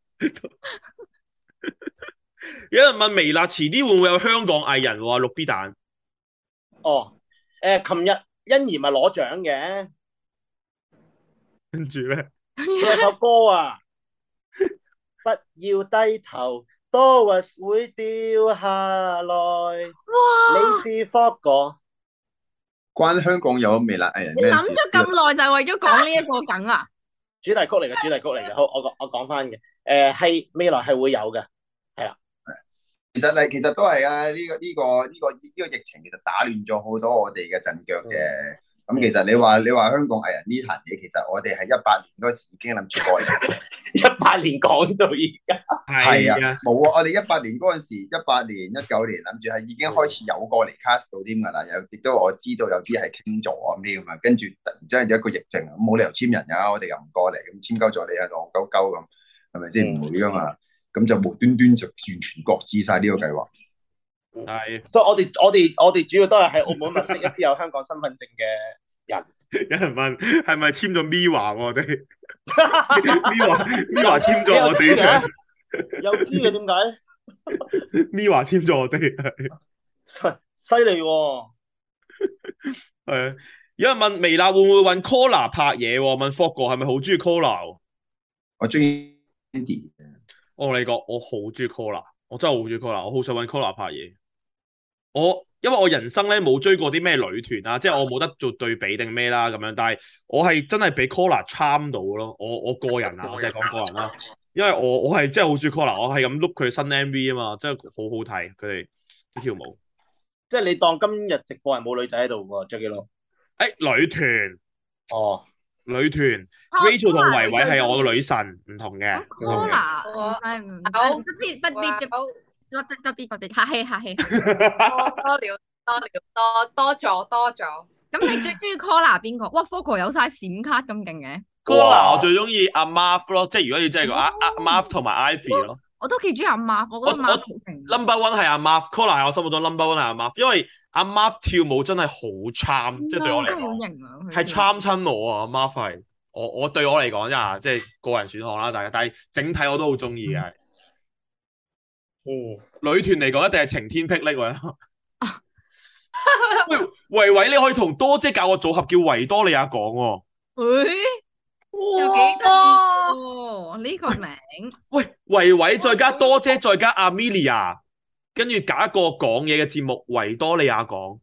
有人問微辣遲啲會唔會有香港藝人話錄 B 蛋？ 哦，誒，琴日欣宜咪攞獎嘅， 跟住咧， 佢有首歌啊，不要低頭，多物會掉下來。哇！你是霍哥， 關香港有微辣藝人你咩事？ 諗咗咁耐就係為咗講呢一個梗啊？ 主題曲嚟嘅，主題曲嚟嘅。好，我講我講翻嘅，誒係未來係會有嘅，係啦。 其實咧，其實都係啊！呢、這個呢、這個呢、這個呢、這個疫情其實打亂咗好多我哋嘅陣腳嘅。咁、嗯、其實你話你話香港藝人呢壇嘢，其實我哋係一八年嗰時已經諗住過嚟， 一八年講到而家， 係啊，冇啊！我哋一八年嗰陣時，一八年、一九年諗住係已經開始有過嚟 cast 到添㗎啦。有亦都我知道有啲係傾咗咁啲咁啊，跟住突然之間有一個疫症，冇理由簽人㗎，我哋又唔過嚟，咁簽鳩咗你喺度戇鳩鳩咁，係咪先？唔會㗎嘛。咁就無端端就完全擱置晒呢個計劃。 係， 所以我哋我哋我哋主要都係喺澳門物色一啲有香港身份證嘅人。 有人問係咪簽咗 Miwa 我哋？Miwa Miwa 簽咗我哋嘅， 有知嘅點解 ？Miwa 簽咗我哋， 犀利喎！ 係。有人問微辣會唔會揾 Collar 拍嘢喎？問 Fog 哥係咪好中意 Collar？ 我中意 Andy 我同你講，我好中意 Collar，我真係好中意 Collar，我好想揾 Collar 拍嘢。我因為我人生咧冇追過啲咩女團啊，即係我冇得做對比定咩啦咁樣，但係我係真係俾 Collar charm 到咯。我我個人啊，我淨係講個人啦，因為我我係真係好中意 Collar，我係咁碌佢新 M V 啊嘛，真係好好睇佢哋啲跳舞。 即係你當今日直播係冇女仔喺度喎 Jacky Lou。 誒女團哦， 女團啊 Rachel 同 Collar 維維係我你最中意嘅女神，唔同嘅。 咁 Collar 唔係唔係好特別特別哇特好別特別特別客氣客氣。 多多了多了多多咗多咗。 咁你最中意 Collar 邊個？哇 Fogo 有晒閃卡咁勁嘅， Collar 我最中意阿 Marv 咯，即係如果要真係講阿阿 Marv 同埋 Ivy 咯。 我都幾中意阿 Marv，我覺得我 Marv 我好勁。 number one 係阿 Marv，Collar 係我心目中 number one 係阿 Marv，因為阿 Marv 跳舞真係好 charm，即係對我嚟真係好講型啊！佢係跳 charm 親我啊。阿 Marv 係我我對我嚟講啫，即係個人選項啦，大家，但係整體我都好中意嘅。 嗯， 女團嚟講一定係晴天霹靂喎。喂，維維你可以同多姐搞個組合叫維多利亞港喎。 誒，又幾得意喎呢個名。 喂，維維再加多姐再加 Amelia，跟住搞一個講嘢嘅節目維多利亞港。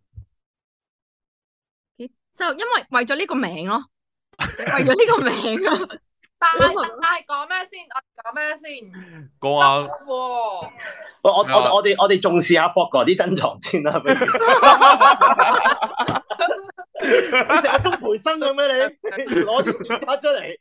就因為為咗呢個名咯，為咗呢個名啊。 但係但係講咩先？我講咩先？ 講下喎， 我我我我哋我哋重視下 Fogo 啲珍藏先啦，不如。你成個鐘培生咁咩你？攞啲閃卡出嚟。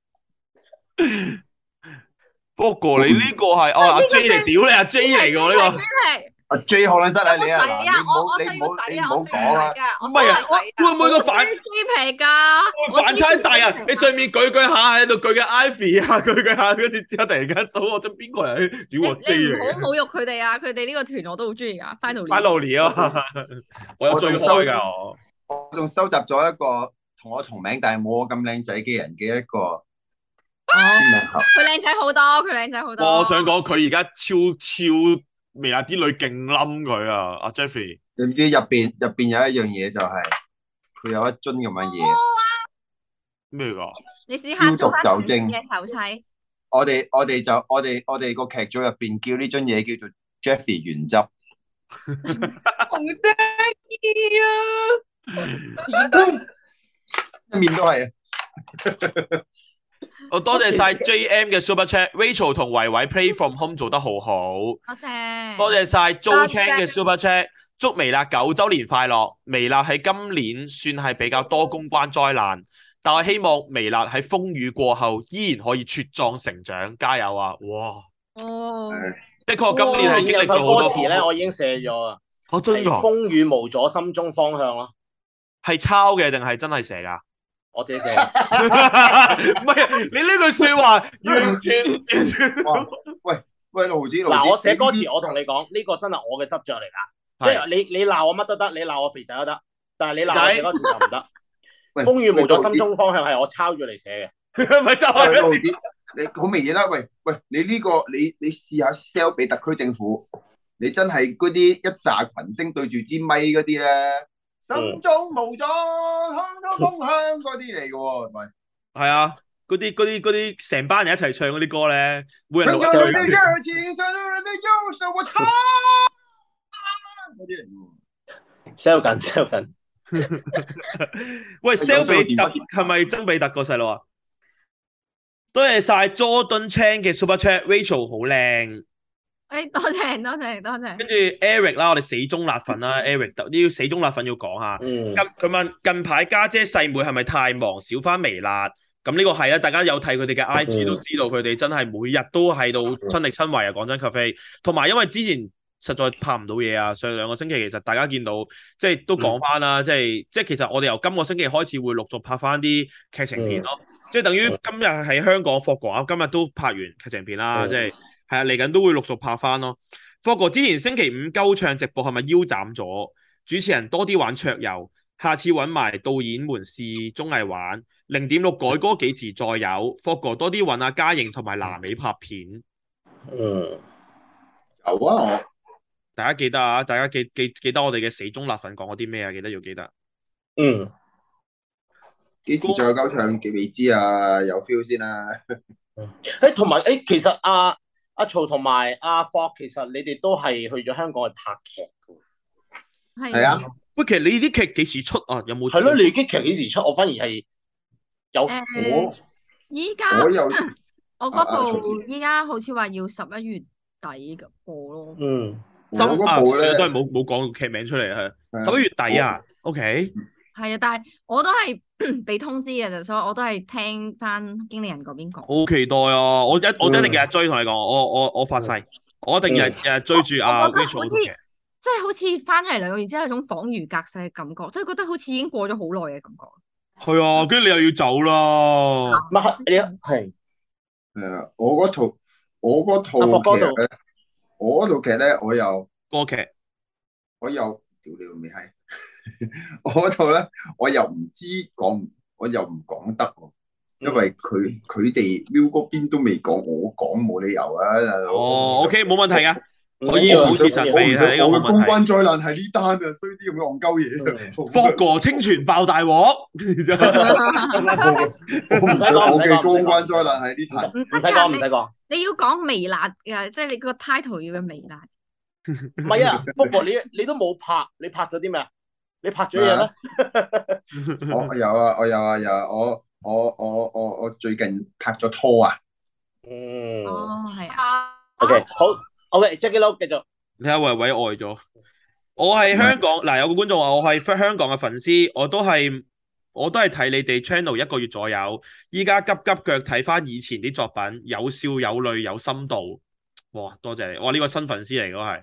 不過你呢個係哦阿 J 嚟，屌你阿 J 嚟嘅喎呢個。 阿 J 可能失禮你啊， 仔嗱你啊！ 唔好我我你唔好想要仔啊！ 你唔好我想講啊要仔，啊！ 唔係啊，會唔會個反雞皮㗎？ 會反差大啊？你上面舉舉下喺度舉嘅 Ivy 啊，舉舉下，跟住之後突然間數我咗邊個人？屌我 J 你唔嚟嘅。 好侮辱佢哋啊！佢哋呢個團我都好中意㗎。Finally， Finally 啊，我有追開㗎我。 我仲收集咗一個同我同名但係冇我咁靚仔嘅人嘅一個哦， 簽名盒。 佢靚仔好多，佢靚仔好多。 我想講佢而家超超微辣啲女勁冧佢啊！阿 Jeffrey， 你唔知入邊入邊有一樣嘢就係佢有一樽咁嘅嘢， 咩㗎？ 你試下做翻消毒酒精嘅手勢。 我哋我哋就我哋我哋個劇組入邊叫呢樽嘢叫做 Jeffrey 原汁。 好得意啊！ 一面都係啊！ 我多謝晒 J M 嘅 Super Chat，Rachel 同維維 Play From Home 做得好好。 多謝。 多謝晒 Jo 多 Chan 謝嘅 Super Chat，祝微辣九週年快樂。微辣喺今年算係比較多公關災難，但我希望微辣喺風雨過後依然可以茁壯成長，加油啊！哇， 哦， 的確今年係經歷有首咗好多歌詞咧，我已經寫咗啊。 哦，真係㗎？ 風雨無阻，心中方向咯。 係抄嘅定係真係寫㗎？ 我自己寫。 唔係啊，你呢句説話完全完全哇喂喂，盧子盧子， 嗱，我寫歌你詞，我同你講，呢個真係我嘅執着嚟㗎。即係係你你鬧我乜都得，你鬧我肥仔都得，但係你鬧我寫歌詞就唔得。 喂風雨無阻， 喂心中方向係我抄住嚟寫咪就喂係盧子，你好明顯啦！喂喂，你呢個你你試下 sell 俾特區政府，你真係嗰啲一紮群星對住支咪嗰啲咧，心中無阻，看到風向嗰啲嚟嘅喎，係咪？ 係啊，嗰啲嗰啲嗰啲成班人一齊唱嗰啲歌咧，每人向錄一句。 着你的熱情，向着你的右手，我唱嗰啲嚟嘅喎。 ，sell 緊 sell 緊。 喂，sell 有比特 sell 電係咪曾比特個細路啊？多謝晒 Jordan Chan 嘅 Super Chat，Rachel 好靚。 誒，多謝多謝多謝。 跟住 Eric 啦，我哋死忠辣粉啦，Eric 呢要死忠辣粉要講下。 嗯近佢問近排家姐細妹係咪太忙少翻微辣？咁呢個係啊，大家有睇佢哋嘅 I G 都知道佢哋真係每日都喺度親力親為啊！講真 cafe，同埋因為之前實在拍唔到嘢啊，上兩個星期其實大家見到即係都講翻啦，即係即係其實我哋由今個星期開始會陸續拍翻啲劇情片咯，即係等於今日喺香港霍哥啊，今日都拍完劇情片啦， 嗯即係係啊嚟緊都會陸續拍翻咯。霍哥之前星期五鳩唱直播係咪腰斬咗？主持人多啲玩桌遊，下次揾埋導演們試綜藝玩。零點六改歌幾時再有？霍哥多啲揾阿嘉瑩同埋南美拍片。 嗯， 有啊，我大家記得啊！大家記記記得我哋嘅死忠辣粉講咗啲咩啊？記得要記得。 嗯， 幾時再有鳩唱嘅未知啊？有 feel 先啦。 誒，同埋誒，其實阿阿曹同埋阿霍，其實你哋都係去咗香港去拍劇嘅。 係係啊， 喂，其實你啲劇幾時出啊？有冇？ 係咯，你啲劇幾時出？我反而係有誒， 我依家我有我啊啊嗰曹子部依家好似話要十一月底嘅播咯。 嗯， 我十啊， 嗰部咧算啦都係冇冇講劇名出嚟係係啊十一月底啊。OK， 係啊，但係我都係被通知嘅啫，所以我都係聽翻經理人嗰邊講。 好期待啊！我一我一定日日追同你講，我我我發誓，我一定日日日追住阿我覺得 Rachel 好似嗰套劇。 即係好似翻嚟兩個月之後，有種恍如隔世嘅感覺，即係覺得好似已經過咗好耐嘅感覺。 係啊，跟住你又要走啦。 唔係你係係啊，我嗰套我嗰套阿霍嗰度劇咧，我嗰套劇咧，我又歌劇我又屌你老味閪，我嗰套咧，我又唔知講唔，我又唔講得喎，因為佢佢哋 Viu 嗰邊都未講，我講冇理由啊，大佬。 哦，OK，冇問題噶， 唔緊要啊可以保持神秘我唔想係呢個冇我嘅公問題。 關災難係呢單啊，衰啲咁嘅戇鳩嘢。 霍哥清泉爆大鑊，跟住之後我唔想我嘅公關災難係呢單。 唔唔使講，唔使講。 你要講微辣嘅，即係你個 title 要嘅微辣。 唔係啊，福哥你你都冇拍，你拍咗啲咩啊？你拍咗嘢咧？ 我有啊，我有啊，有啊，我我我我我最近拍咗拖啊。 嗯哦，係啊。 啊 ，OK，好，OK，Jackie Lou 繼續。 你睇下維維愛咗。我係香港嗱，有個觀眾話我係香港嘅粉絲，我都係我都係睇你哋 channel 一個月左右，依家急急腳睇翻以前啲作品，有笑有淚有深度。哇，多謝你！哇，呢個新粉絲嚟嗰係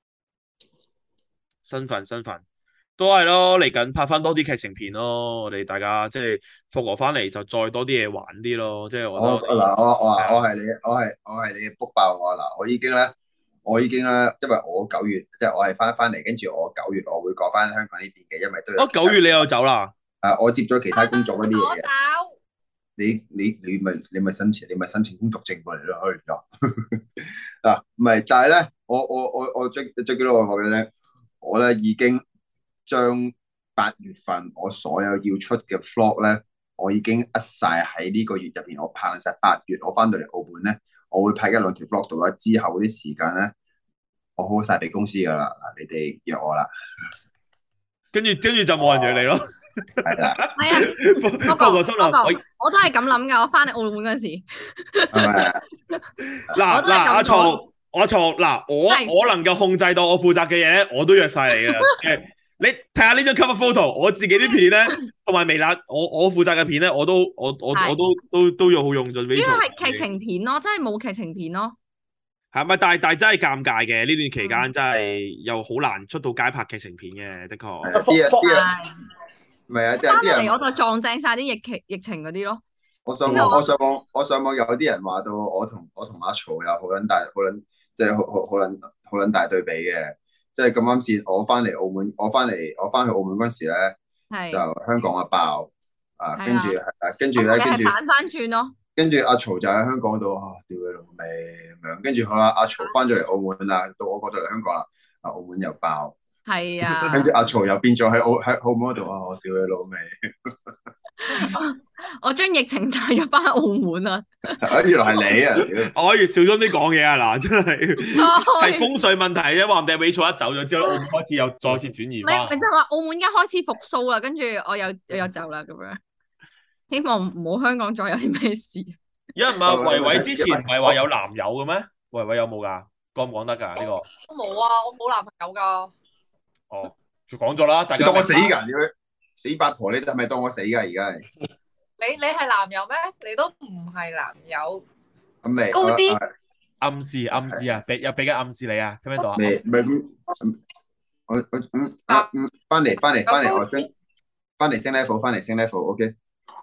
新粉新粉，都係咯，嚟緊拍翻多啲劇情片咯，我哋大家即係復活翻嚟就再多啲嘢玩啲咯，即係我我覺得嗱我我我係你我係我係你嘅 book 爆我嗱，我已經咧我已經咧，因為我九月即係我係翻翻嚟，跟住我九月我會過翻香港呢邊嘅，因為都有哦九月你又走啦。 啊我接咗其他工作嗰啲嘢嘅。 我走。 你你你咪你咪申請你咪申請工作證過嚟咯，去咗嗱唔係，但係咧我我我我最最記得我講嘅咧，我咧已經將八月份我所有要出嘅 vlog 咧，我已經呃晒喺呢個月入邊，我拍晒八月我翻到嚟澳門咧，我會拍一兩條 vlog 度啦，之後嗰啲時間咧，我好晒俾公司噶啦，嗱你哋約我啦， 跟住跟住就冇人約你咯。 係啦， 係啊， 不過我心諗，我我都係咁諗噶。我翻嚟澳門嗰陣時， 係咪？ 嗱嗱我都係咁講阿曹，阿曹嗱，我係我能夠控制到我負責嘅嘢咧，我都約晒你嘅。誒你睇下呢張 cover photo，我自己啲片咧，同埋微辣，我我負責嘅片咧，我都我我係我都都都要好用盡。 主要係劇情片咯，真係冇劇情片咯。 係咪？但係但係真係尷尬嘅，呢段期間真係又好難出到街拍劇情片嘅，的確。 係啊啲人啲人係唔係啊，啲翻人啲人嚟我就撞正晒啲疫情疫情嗰啲咯。 我上網，我上網，我上網有啲人話到我同我同阿曹有好撚大，好撚即係好好好撚好撚大對比嘅。即係咁啱先，我翻嚟澳門，我翻嚟我翻去澳門嗰時咧，就係香港啊爆啊， 係啊跟住係啊，跟住咧， 我哋跟住係反翻轉咯。 跟住阿曹就喺香港度啊，屌佢老味咁樣。跟住好啦，阿曹翻咗嚟澳門啦，到我過到嚟香港啦，啊澳門又爆， 係啊， 跟住阿曹又變咗喺澳喺澳門嗰度啊，我屌佢老味。 我將疫情帶咗翻澳門啊！ 啊，原來係你啊！屌我可以小心啲講嘢啊！嗱，真係係係風水問題啫，話唔定尾錯一走咗之後，澳門開始又再次轉移咪翻。 咪就係話澳門而家開始復甦啦，跟住我又我又走啦咁樣。希望唔好香港再有啲咩事。 有人問維維之前唔係話有男友嘅咩？維維有冇㗎？講唔講得㗎？呢個我冇啊，我冇男朋友噶。 哦，就講咗啦，大家你當我死明白㗎？屌死八婆，你係咪當我死㗎？而家係你你係男友咩？你都唔係男友。 咁未高啲啊啊暗示暗示啊，俾有俾緊暗示你啊，聽唔聽到啊？ 未未咁，我我嗯啊嗯，翻嚟翻嚟翻嚟，我升翻嚟升 level，翻嚟升 level，OK。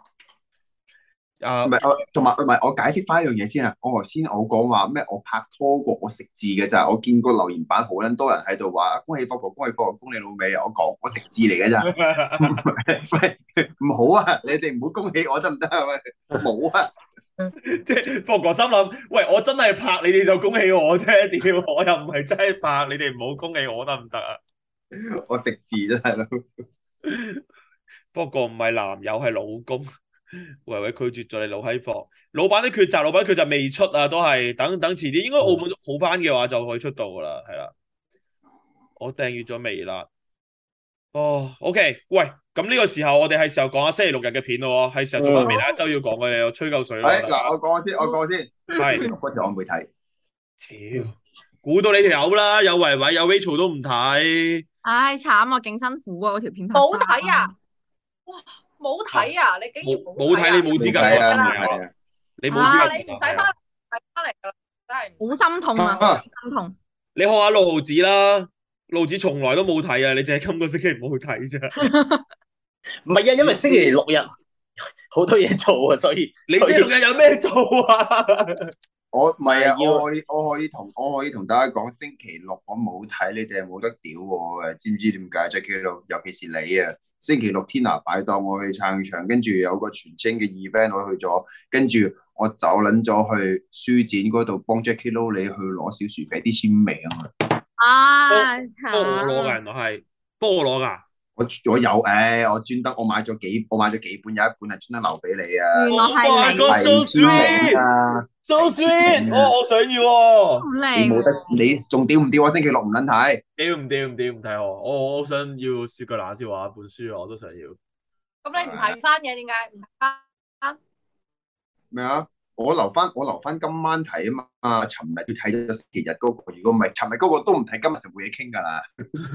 啊唔係我同埋唔係我解釋翻一樣嘢先啊！我頭先我講話咩？我拍拖過，我食字嘅咋？我見過留言板好撚多人喺度話恭喜霍哥，恭喜霍哥，恭喜老味啊！我講我食字嚟嘅咋？喂唔好啊！你哋唔好恭喜我得唔得啊？喂，冇啊！ 即係霍哥心諗，喂，我真係拍你哋就恭喜我啫，屌，我又唔係真係拍，你哋唔好恭喜我得唔得啊？ 我食字真係咯。 霍哥唔係男友係老公， 維維拒絕咗你老閪貨，老闆啲抉擇，老闆抉擇未出啊，都係等等遲啲，應該澳門好翻嘅話就可以出到噶啦，係啦。我訂閱咗微辣。哦，OK，喂，咁呢個時候我哋係時候講下星期六日嘅片咯，係時候做翻微辣一周要講嘅嘢，我吹夠水啦。 誒嗱，我講先，我講先， 係嗰條我未睇。 屌，估到你條友啦，有維維有 Rachel 都唔睇。 唉，慘啊，勁辛苦啊，嗰條片拍冇睇啊！哇，冇睇啊！你竟然冇冇睇，你冇資格睇啊！ 講係啊！ 你冇啊資格你唔使翻睇翻嚟噶啦，真係唔好心痛啊， 啊心痛。 你學下六毫子啦，六毫子從來都冇睇啊，你淨係今個星期冇去睇啫。 唔係啊，因為星期六日好多嘢做啊，所以你星期六日有咩做啊？ 我唔係啊， 要我可以我可以同我可以同大家講，星期六我冇睇，你哋係冇得屌我嘅，知唔知點解？Jacky Lou，尤其是你啊，星期六天拿擺檔，我去撐場，跟住有個全清嘅 event 我去咗，跟住我走撚咗去書展嗰度幫 Jacky Lou 你去攞小薯茄啲簽名啊！ 啊， 幫我攞㗎， 慘！ 原來係幫我攞㗎。 我我有誒，我專登我買咗幾我買咗幾本，有一本係專登留俾你啊！ 原來係 Oh my 你 God， 係 so 簽名 sweet， 啊！ so 係 sweet， 簽名啊哦，我想要喎。 好你靚冇得喎， 你仲屌唔屌啊？星期六唔撚睇。 屌唔屌唔屌唔睇我，我我想要雪腳冷笑話本書啊，我都想要。 咁你唔睇翻嘅點解唔睇翻？ 咩啊？我留翻我留翻今晚睇啊嘛，尋日要睇咗星期日嗰個，如果唔係尋日嗰個都唔睇，今日就冇嘢傾㗎啦。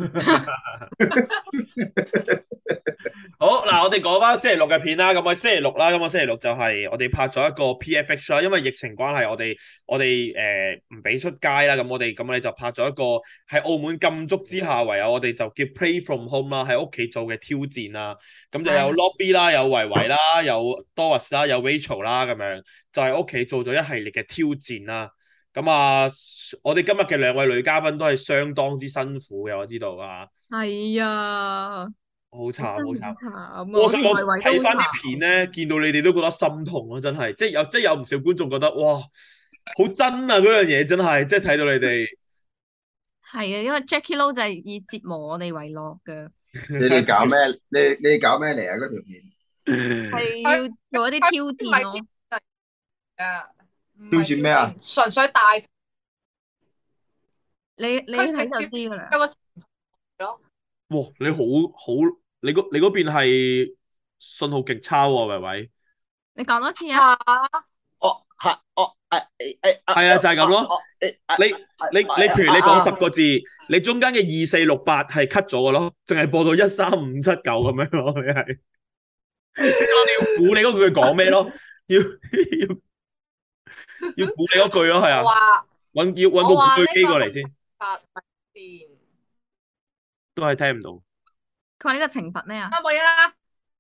好嗱，我哋講翻星期六嘅片啦。咁我星期六啦，咁我星期六就係我哋拍咗一個 P F X 啦。因為疫情關係，我哋我哋誒唔俾出街啦。咁我哋咁我哋就拍咗一個喺澳門禁足之下，唯有我哋就叫 Play from Home 啦，喺屋企做嘅挑戰啦。咁就有係 Lobby 啦，有維維啦，有 Doris 啦，有 Rachel 啦，咁樣就喺屋企做咗一系列嘅挑戰啦。咁啊，我哋今日嘅兩位女嘉賓都係相當之辛苦嘅，我知道啊， 係啊， 好慘好慘。 真係好慘啊！ 我想我同維維都好睇翻啲慘。 片咧，見到你哋都覺得心痛咯，真係，即係有即係有唔少觀眾覺得哇，好真啊嗰樣嘢真係，即係睇到你哋。 係啊，因為 Jacky Lou 就係以折磨我哋為樂嘅， 你哋搞咩？你你哋搞咩嚟啊？嗰條片係要做一啲挑唔係戰咯。 挑啊，唔挑係戰咩啊？ 純粹大你你佢睇就直接知噶啦。 有個咯， 哇，你好好，你嗰你嗰邊係信號極差喎，維維。 你講多次啊！ 嚇哦係哦誒誒誒係啊，就係咁咯。 哦誒你你你，譬如你講十個字，你中間嘅二四六八係 cut 咗嘅咯，淨係播到一三五七九咁樣咯，你係。你要估你嗰句講咩咯？要要要估你嗰句咯，係啊。 我話揾要揾部我話古巨基呢個過嚟先， 發電都係聽唔到。 佢話呢個懲罰咩啊？ 啊冇嘢啦，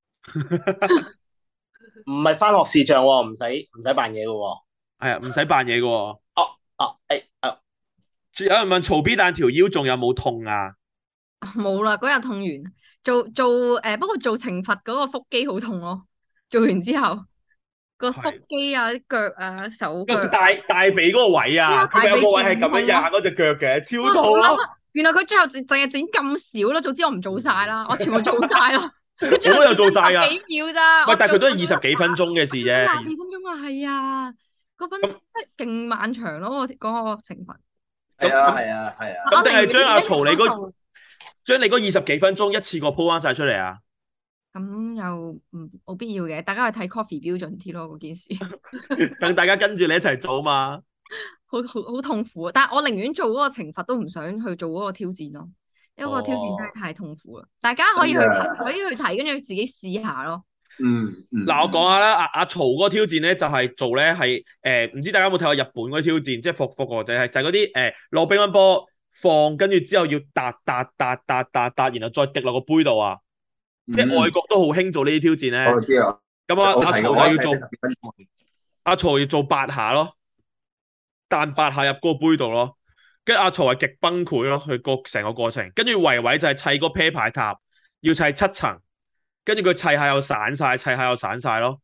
唔係翻學視像喎，唔使唔使扮嘢嘅喎。 係啊，唔使扮嘢嘅喎。 哦哦誒誒， 有人問曹 B 蛋條腰仲有冇痛啊？ 冇啦，嗰日痛完，做做誒，不過做懲罰嗰個腹肌好痛咯。做完之後，個腹肌啊、啲腳啊、手腳個，大大髀嗰個位啊， 啊佢咪有個位係咁樣大髀壓嗰只腳嘅，超痛咯。 哇好啦原來佢最後淨淨係整咁少咯，早知我唔做晒啦，我全部做晒啦。佢最後我都有做晒㗎剪十幾秒咋？ 喂，但係佢都係我二十幾分鐘嘅事廿啫。 幾分鐘啊，係啊，嗰分即係勁漫長咯，我嗰個懲罰。 係啊係啊係啊！ 咁定係將阿曹你嗰嗰將你嗰二十幾分鐘一次過鋪翻晒出嚟啊？ 咁又唔冇必要嘅，大家去睇 coffee 標準啲咯，嗰件事等大家跟住你一齊做嘛。 好好好痛苦啊！但係我寧願做嗰個懲罰都唔想去做嗰個挑戰咯，因為嗰個挑戰真係太痛苦啦。大家可以去真睇， 㗎可以去睇，跟住自己試下咯。 嗯嗯。 嗱，我講下啦，阿阿曹嗰個挑戰咧就係做咧係誒，唔知大家有冇睇過日本嗰啲挑戰，即係復復國就係就係嗰啲誒攞乒乓波放，跟住之後要笪笪笪笪笪笪，然後再滴落個杯度啊！即係外國都好興做呢啲挑戰咧。 我知啊。 咁啊，阿曹我睇過就要做我睇十幾分鐘阿曹要做八下咯，彈八下入嗰個杯度咯。跟住阿曹係極崩潰咯，佢個成個過程。跟住維維就係砌個啤牌塔，要砌七層，跟住佢砌下又散晒，砌下又散晒咯。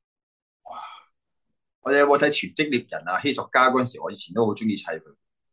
我哋有冇睇《全職獵人》啊？希索家嗰陣時，我以前都好中意砌佢。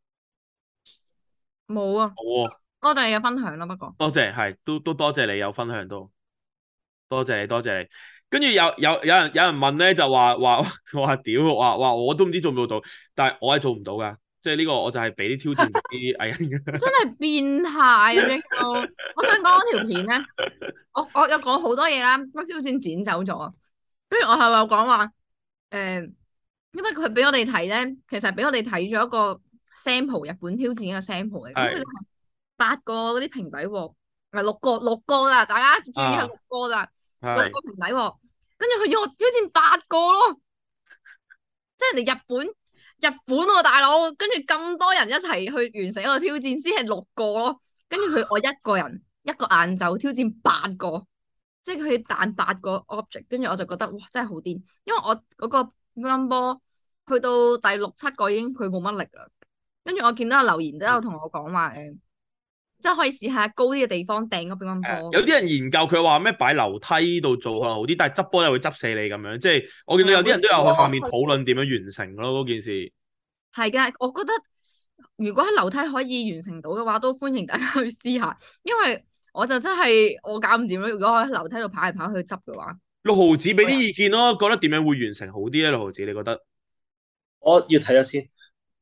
冇啊， 好啊， 多謝你嘅分享啦。不過多謝，係都都多謝你有分享都，多謝你多謝你。 跟住有有有人有人問咧，就話話話屌，話話我都唔知做唔做到，但係我係做唔到噶，即係呢個我就係俾啲挑戰俾啲藝人嘅。 真係變態啊 Jaco！我想講嗰條片咧，我我有講好多嘢啦，嗰時好似剪走咗。跟住我係有講話誒，因為佢俾我哋睇咧，其實俾我哋睇咗一個 sample 日本挑戰嘅 sample 嚟，咁佢係八個嗰啲平底鑊，唔係六個六個啦，大家注意係六個啦，六個平底鑊。跟住佢要我挑戰八個咯，即係人哋日本日本喎、啊、大佬，跟住咁多人一齊去完成一個挑戰，先係六個咯。跟住佢我一個人一個晏晝挑戰八個，即係佢彈八個 object，跟住我就覺得哇真係好癲，因為我嗰個乒乓波去到第六七個已經佢冇乜力啦。跟住我見到有留言都有同我講話誒。即係可以試下高啲嘅地方掟個乒乓波。 有啲人研究佢話咩擺樓梯度做可能好啲，但係執波又會執死你咁樣。即係我見到有啲人都有喺下面討論點樣完成咯嗰件事。 係嘅，我覺得如果喺樓梯可以完成到嘅話，都歡迎大家去試下。因為我就真係我搞唔掂咯。如果我喺樓梯度跑嚟跑去執嘅話， 六毫子俾啲意見咯，覺得點樣會完成好啲咧？六毫子你覺得？ 我要睇咗先。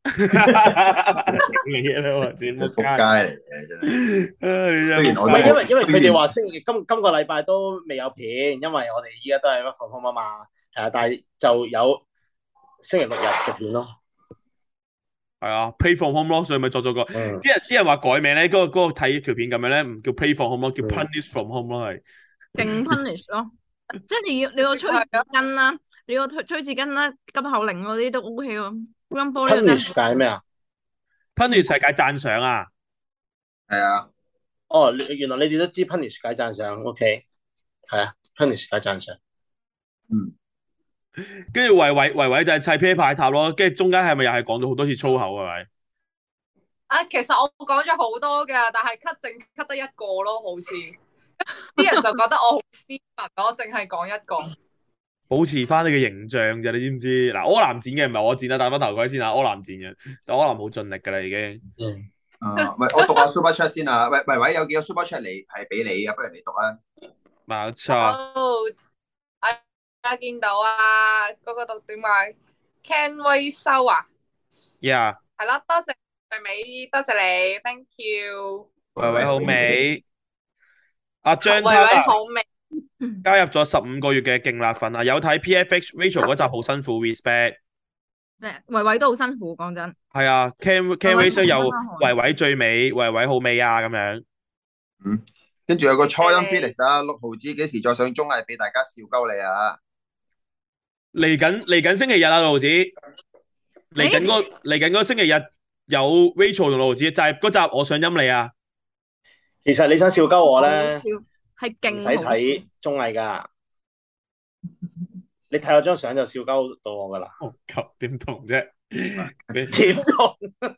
嘢啦，或者仆街嚟嘅真係。 唔係因為因為佢哋話星期今今個禮拜都未有片，因為我哋依家都係 work from home 啊嘛，係啊，但係就有星期六日嘅片咯。 係啊 ，play from home 咯，所以咪作咗個。啲、嗯、人啲人話改名咧，嗰、那個嗰、那個睇條片咁樣咧，唔叫 play from home 咯，叫 punish from home 咯，係。勁 punish 咯，即係你要你要吹紙巾啦，你要吹吹紙巾啦，急口令嗰啲都 O K 喎。 Punish 解咩啊 ？Punish 係解讚賞啊， 係啊。 哦，原來你哋都知 Punish 解讚賞 ，OK， 係啊 ，Punish 解讚賞。 嗯。 跟住維維維維就係砌啤牌塔咯，跟住中間係咪又係講咗好多次粗口係咪？ 啊，其實我講咗好多㗎，但係 cut 淨 cut 得一個咯，好似啲人就覺得我好斯文，我淨係講一個。 保持翻你嘅形象啫，你知唔知？嗱，柯南剪嘅唔係我剪啊，戴翻頭盔先啊，柯南剪嘅，但柯南好盡力噶啦已經。 嗯。啊，喂，我讀下 Super Chat 先啊，喂喂喂，有幾個 Super Chat 嚟係俾你啊，不如你讀啊。 冇錯。 哦，啊見到啊，嗰、那個讀點啊 ？Can 威修啊 ？Yeah。 係啦，多謝維美，多謝你 ，thank you。 維維好美。阿張維維好美。 加入咗十五個月嘅勁辣粉啊！有睇 P F X Rachel 嗰集好辛苦 ，respect。 維維都好辛苦，講真。 係啊 ，Can Can Rachel 又維維最美，維維好美啊咁樣。 嗯，跟住有個初音 Felix 啊，六毫子幾時再上綜藝俾大家笑鳩你啊？ 嚟緊嚟緊星期日啊，六毫子。嚟緊嗰嚟緊嗰星期日有 Rachel 同六毫子，就係嗰集我想陰你啊。 其實你想笑鳩我咧？ 係勁， 唔使睇綜藝噶，你睇我張相就笑鳩到我噶啦。 哦，點同啫？ 點同？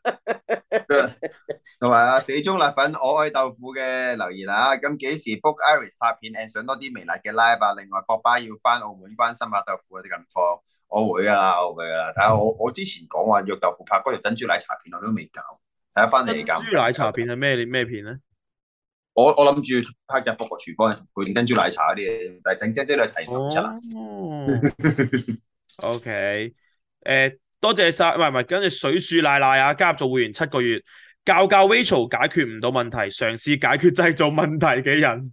同埋啊，死忠辣粉我愛豆腐嘅留言啊，咁幾時 book Iris 拍片 and 上多啲微辣嘅 live 啊？另外，博巴要翻澳門關心下豆腐嗰啲近況，我會噶啦，我會噶啦。睇下我我之前講話約豆腐拍嗰條珍珠奶茶片，我都未搞，睇下翻嚟搞。 珍珠奶茶片係咩咩片咧？ 我我諗住拍隻復國廚房配點珍珠奶茶嗰啲嘢，但係整真真係睇唔出啦。 O K， 誒，多謝晒，唔係唔係，跟住水樹奶奶啊，加入做會員七個月，教教 Rachel 解決唔到問題，嘗試解決製造問題嘅人。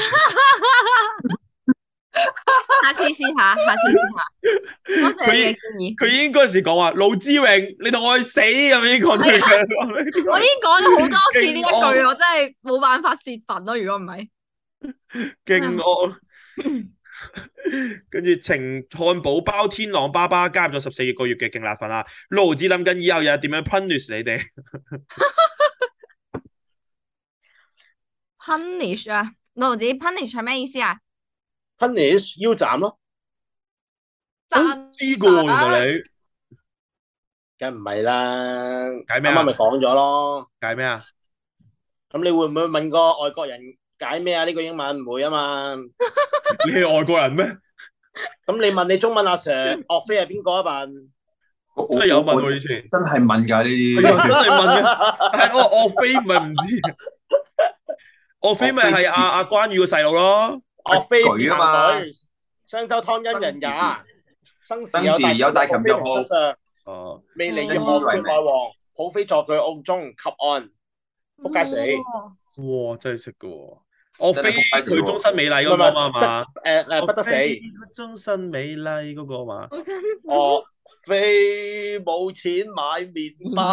下次試下，下次試下。多謝你嘅建議。 佢已經嗰陣時講話，盧志榮，你同我去死咁已經講咗。 我已經講咗好多次呢一句，我真係冇辦法泄憤咯。如果唔係， 勁惡。跟住情漢堡包天朗爸爸加入咗十四個月嘅勁辣粉啊！盧子諗緊以後又點樣 punish 你哋 ？punish 啊，盧子 punish 係咩意思啊 ？punish 腰斬咯。 知個原來你， 梗唔係啦。 解咩啊？ 啱啱咪講咗咯。 解咩啊？ 咁你會唔會問個外國人解咩啊？呢個英文唔會啊嘛。 你係外國人咩？ 咁你問你中文阿 Sir，岳飛係邊個啊？問真係有問我以前， 真係問㗎呢啲， 真係問嘅。但係我岳飛唔係唔知，岳飛咪係阿阿關羽個細路咯。 岳飛舉啊嘛。 商周湯因人也，生時生有大時有大琴琴若若失上， 哦， 未離哦葉何缺內王，抱飛坐佢屋中及岸，仆街死。 哇哇，真係識噶喎！我飛真係仆街死佢喎終身美麗唔係唔嗰個嘛係嘛， 得誒誒不得死。 我飛佢終身美麗嗰個嘛。 好辛苦。 我飛冇錢買麵包，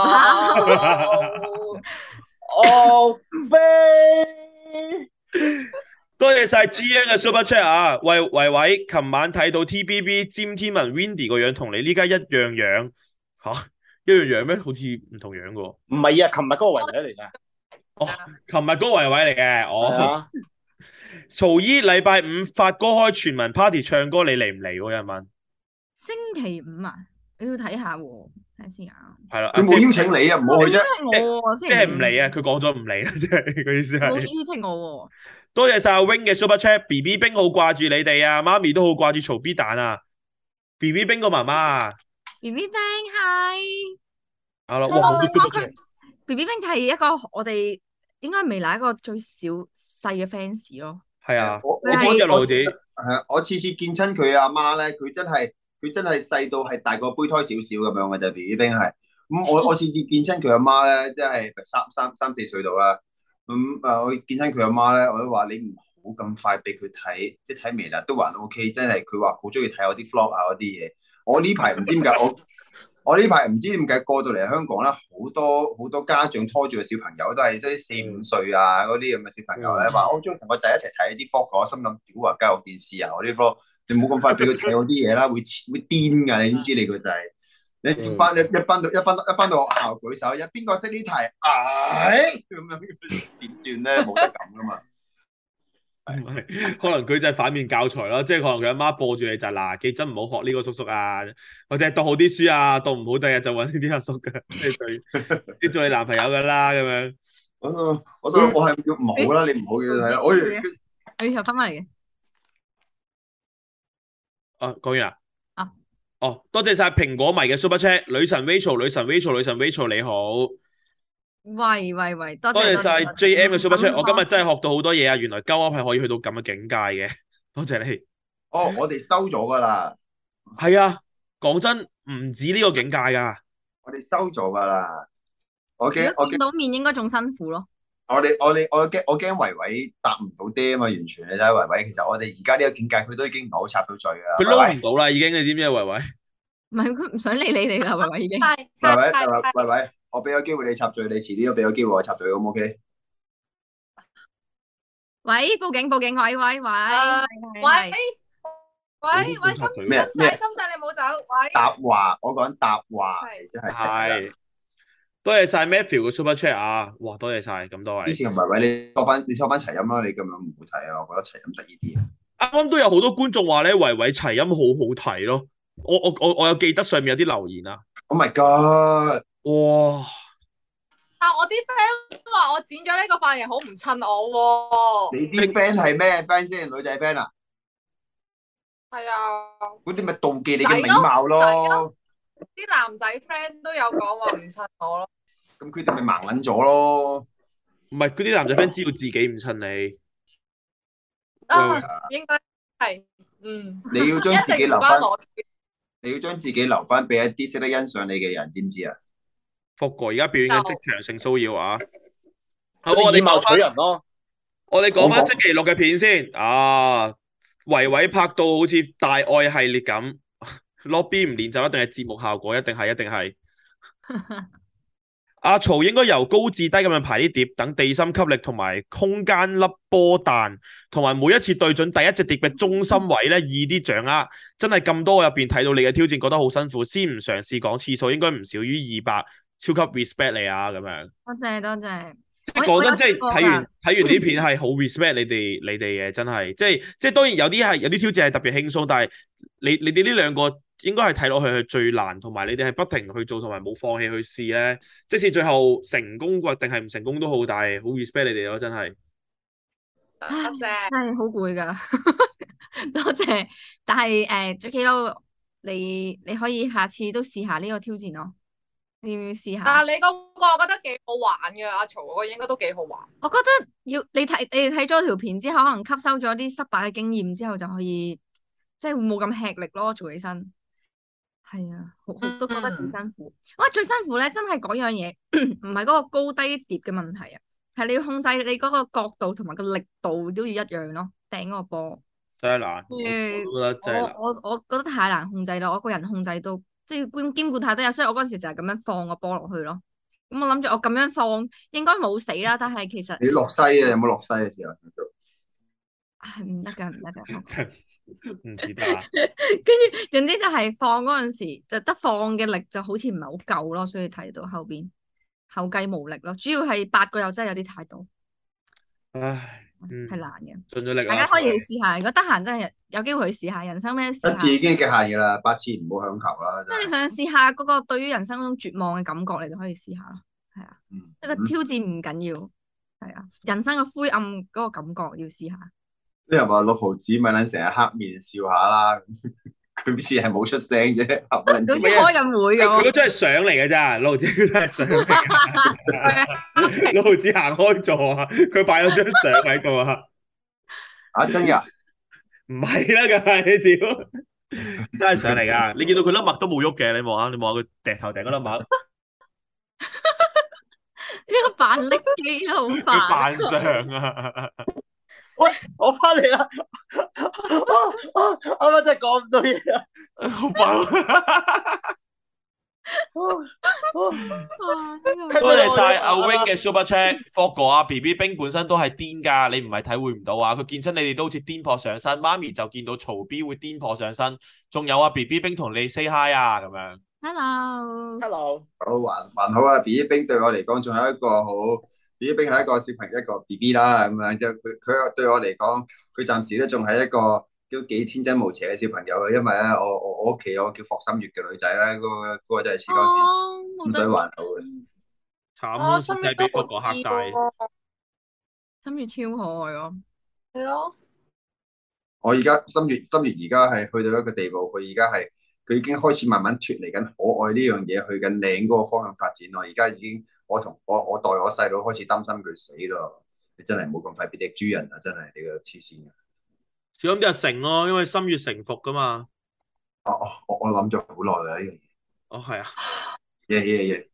我飛。 多謝晒 G N 嘅 Super Chat 啊！喂維維，琴晚睇到 T B B 詹天文 Windy 個樣同你呢家一樣樣吓，一樣樣咩？好似唔同樣噶喎。 唔係啊，琴日嗰個維維嚟㗎。 哦，琴日嗰個維維嚟嘅。 係哦， 啊， 曹姨禮拜五發哥開全民 party 唱歌，你嚟唔嚟喎？有人問。 星期五啊，你要睇下喎，睇下先啊。 係啦， 佢冇邀請你啊，唔好去啫。 我喎，星即期五係唔嚟啊！佢講咗唔嚟啦，即係個意思冇係。 邀請我多謝晒阿 Wing 嘅 Super Chat，B B 冰好掛住你哋啊，媽咪都好掛住曹 B 蛋啊，B B 冰個媽媽啊， 喎。B B Bang 係， 好啦， 我哇，好多想講 Super 佢 Chat， B B Bang 係一個我哋應該未來一個最小細嘅 fans 咯。 係啊， 我我佢係一路子， 係啊，我次次見親佢阿媽咧，佢真係佢真係細到係大個胚胎少少咁樣嘅就 B B 冰係。咁我我次次見親佢阿媽咧，即係三三三四歲度啦。咁誒，我見親佢阿媽咧，我都話你唔好咁快俾佢睇，即係睇微辣都還 O K。真係佢話好中意睇我啲 vlog 啊嗰啲嘢。我呢排唔知點解我我呢排唔知點解過到嚟香港咧，好多好多家長拖住個小朋友都係即係四五歲啊嗰啲咁嘅小朋友咧，話我中意同個仔一齊睇啲 vlog。我心諗屌啊，教育電視啊，我啲 vlog 你唔好咁快俾佢睇我啲嘢啦，會會癲㗎，你知唔知你個仔？你翻你一翻到一翻到一翻到學校舉手，有邊個識呢題？唉，咁樣點算咧？冇得咁噶嘛。 唔係，可能佢就係反面教材咯，即係可能佢阿媽播住你就係嗱，記真唔好學呢個叔叔啊，或者係讀好啲書啊，讀唔好第日就揾呢啲阿叔嘅，即係佢啲做你男朋友噶啦咁樣。 我想我想我係叫唔好啦，你唔好嘅睇啦。我你又翻返嚟嘅。 啊，講完啦。 啊。 哦，多謝晒蘋果迷嘅 Super Chat，女神 Rachel，女神 Rachel，女神 Rachel 你好。 喂喂喂，多多謝晒謝多謝 J M 嘅 Super Chat， 嗯我今日真係學到好多嘢啊！原來鳩噏係可以去到咁嘅境界嘅，多謝你。 哦，我哋收咗噶啦， 係啊，講真，唔止呢個境界噶。 我哋收咗噶啦。我驚如果見我驚到面應該仲辛苦咯。 我哋我哋我驚我驚維維答唔到爹啊嘛，完全你睇維維，其實我哋而家呢個境界，佢都已經唔係好插到嘴噶啦。 佢撈唔到啦，已經，你知唔知啊？維維， 唔係佢唔想理你哋啦，維維已經。 係維維係係維維維，我俾個機會你插嘴，你遲啲都俾個機會我插嘴，好唔 OK？ 喂，報警報警，喂喂喂， 啊係喂係喂喂，今今咩咩仔今仔你冇走，喂， 答話，我講答話， 係真係係，多謝晒 Matthew 嘅 Super Chat 啊！哇，多謝晒咁多位。 之前同維維你收翻你收翻齊音啦，你咁樣唔好睇啊，我覺得齊音得意啲啊。 啱啱都有好多觀眾話咧，維維齊音好好睇咯。我我我我有記得上面有啲留言啊。 Oh my god！ 哇！ 但我啲 friend 話我剪咗呢個髮型好唔襯我喎。 你啲 friend 係咩 friend 先？女仔 friend 啊？ 係啊， 嗰啲咪妒忌你嘅美貌咯。 啲男仔 friend 都有講話唔襯我咯。 咁佢哋咪盲撚咗咯。 唔係嗰啲男仔 friend 知道自己唔襯你。 啊喂， 應該係，嗯， 你要將自己一定唔留翻關，我事。 你要將自己留翻俾一啲識得欣賞你嘅人，知唔知啊？ 福哥而家表演緊職場性騷擾啊！好， 我我哋哋以貌取講翻， 人咯。 我哋講翻星期六嘅片先啊！維維拍到好似大愛系列咁，lobby 唔練就一定係節目效果，一定係，一定係。阿曹應該由高至低咁樣排啲碟，等地心吸力同埋空間粒波彈，同埋每一次對準第一隻碟嘅中心位咧，易啲掌握。真係咁多入邊睇到你嘅挑戰，覺得好辛苦，先唔嘗試講次數，應該唔少於二百，超級 respect 你啊咁樣。 多謝多謝。 即係講真， 我即係有試過㗎睇完睇完啲片係好 respect 你哋你哋嘅，真係即係即係當然有啲係有啲挑戰係特別輕鬆，但係你你哋呢兩個應該係睇落去係最難，同埋你哋係不停去做，同埋冇放棄去試咧。即使最後成功或定係唔成功都好，但係好 respect 你哋咯，真係。 多謝。 係好攰噶，多謝。但係誒 Jacky Lou，你你可以下次都試下呢個挑戰咯。你要唔要試下？ 但係你嗰個我覺得幾好玩嘅，阿曹嗰個應該都幾好玩。 我覺得要你睇你哋睇咗條片之後，可能吸收咗啲失敗嘅經驗之後，就可以即係會冇咁吃力咯，做起身。係啊，好好都覺得幾辛苦。哇，最辛苦咧，真係嗰樣嘢，唔係嗰個高低疊嘅問題啊，係你要控制你嗰個角度同埋個力度都要一樣咯，掟嗰個波。 真係難，我跟我都覺得住真係難。 我我我覺得太難控制啦，我個人控制到即係兼兼顧太多嘢，所以我嗰陣時就係咁樣放個波落去咯。咁我諗住我咁樣放應該冇死啦，但係其實你落西啊？有冇落西嘅時候？ 係唔得㗎，唔得㗎。 真唔似得啊！ 跟住總之就係放嗰陣時就得放嘅力就好似唔係好夠咯，所以睇到後邊後繼無力咯。主要係八個又真係有啲太多， 唉，嗯， 係難嘅。 盡咗力啦， 大家可以去試下，如果得閒真係有機會去試下人生咩試下。 一次已經極限㗎啦，八次唔好強求啦。 即係你想試下嗰個對於人生嗰種絕望嘅感覺，你就可以試下咯。係啊， 嗯即係個挑戰唔緊要，係啊，人生嘅灰暗嗰個感覺要試下。 啲人話六毫子咪撚成日黑面笑下啦，佢好似係冇出聲啫，合撚好似開緊會佢咁。 都真係上嚟嘅咋，六毫子佢真係上嚟㗎。六毫子行開座啊，佢擺咗張相喺度啊， 啊真㗎？ 唔係啦，梗係你屌，真係上嚟㗎。你見到佢粒墨都冇喐嘅，你望下，你望下佢掟頭掟嗰粒墨， 呢個扮力機都好佢煩。 扮相啊！ 喂，我翻嚟啦！啊啊，啱啱真係講唔到嘢啊！ 好爆！多謝晒阿 Wing 嘅 Super Chat，霍哥啊 B B 冰本身都係癲㗎，你唔係體會唔到啊！佢見親你哋都好似癲撲上身，媽咪就見到曹 B 會癲撲上身，仲有啊 B B 冰同你 say hi 啊咁樣。 Hello， Hello， 好還還好啊！B B 冰對我嚟講仲係一個好，B B 冰係一個小朋友一個 B B 啦咁樣，即係佢佢對我嚟講，佢暫時都仲係一個都幾天真無邪嘅小朋友嘅，因為咧我我我屋企有個叫霍心月嘅女仔咧，嗰、個嗰個真係似鳩屎，咁所以還好嘅。 慘哦， 咯， 心真係俾月都好霍哥嚇大。 啲喎， 心月超可愛咯。 係咯， 我而家心月心月而家係去到一個地步，佢而家係佢已經開始慢慢脱離緊可愛呢樣嘢，去緊靚嗰個方向發展咯。而家已經我同我我代我細佬開始擔心佢死咯。你真係冇咁快變隻豬人啊！真係你個黐線嘅。 小心啲阿成咯，因為心悦誠服噶嘛。 哦哦，我我諗咗好耐啦呢樣嘢。 哦，係啊。 耶耶耶！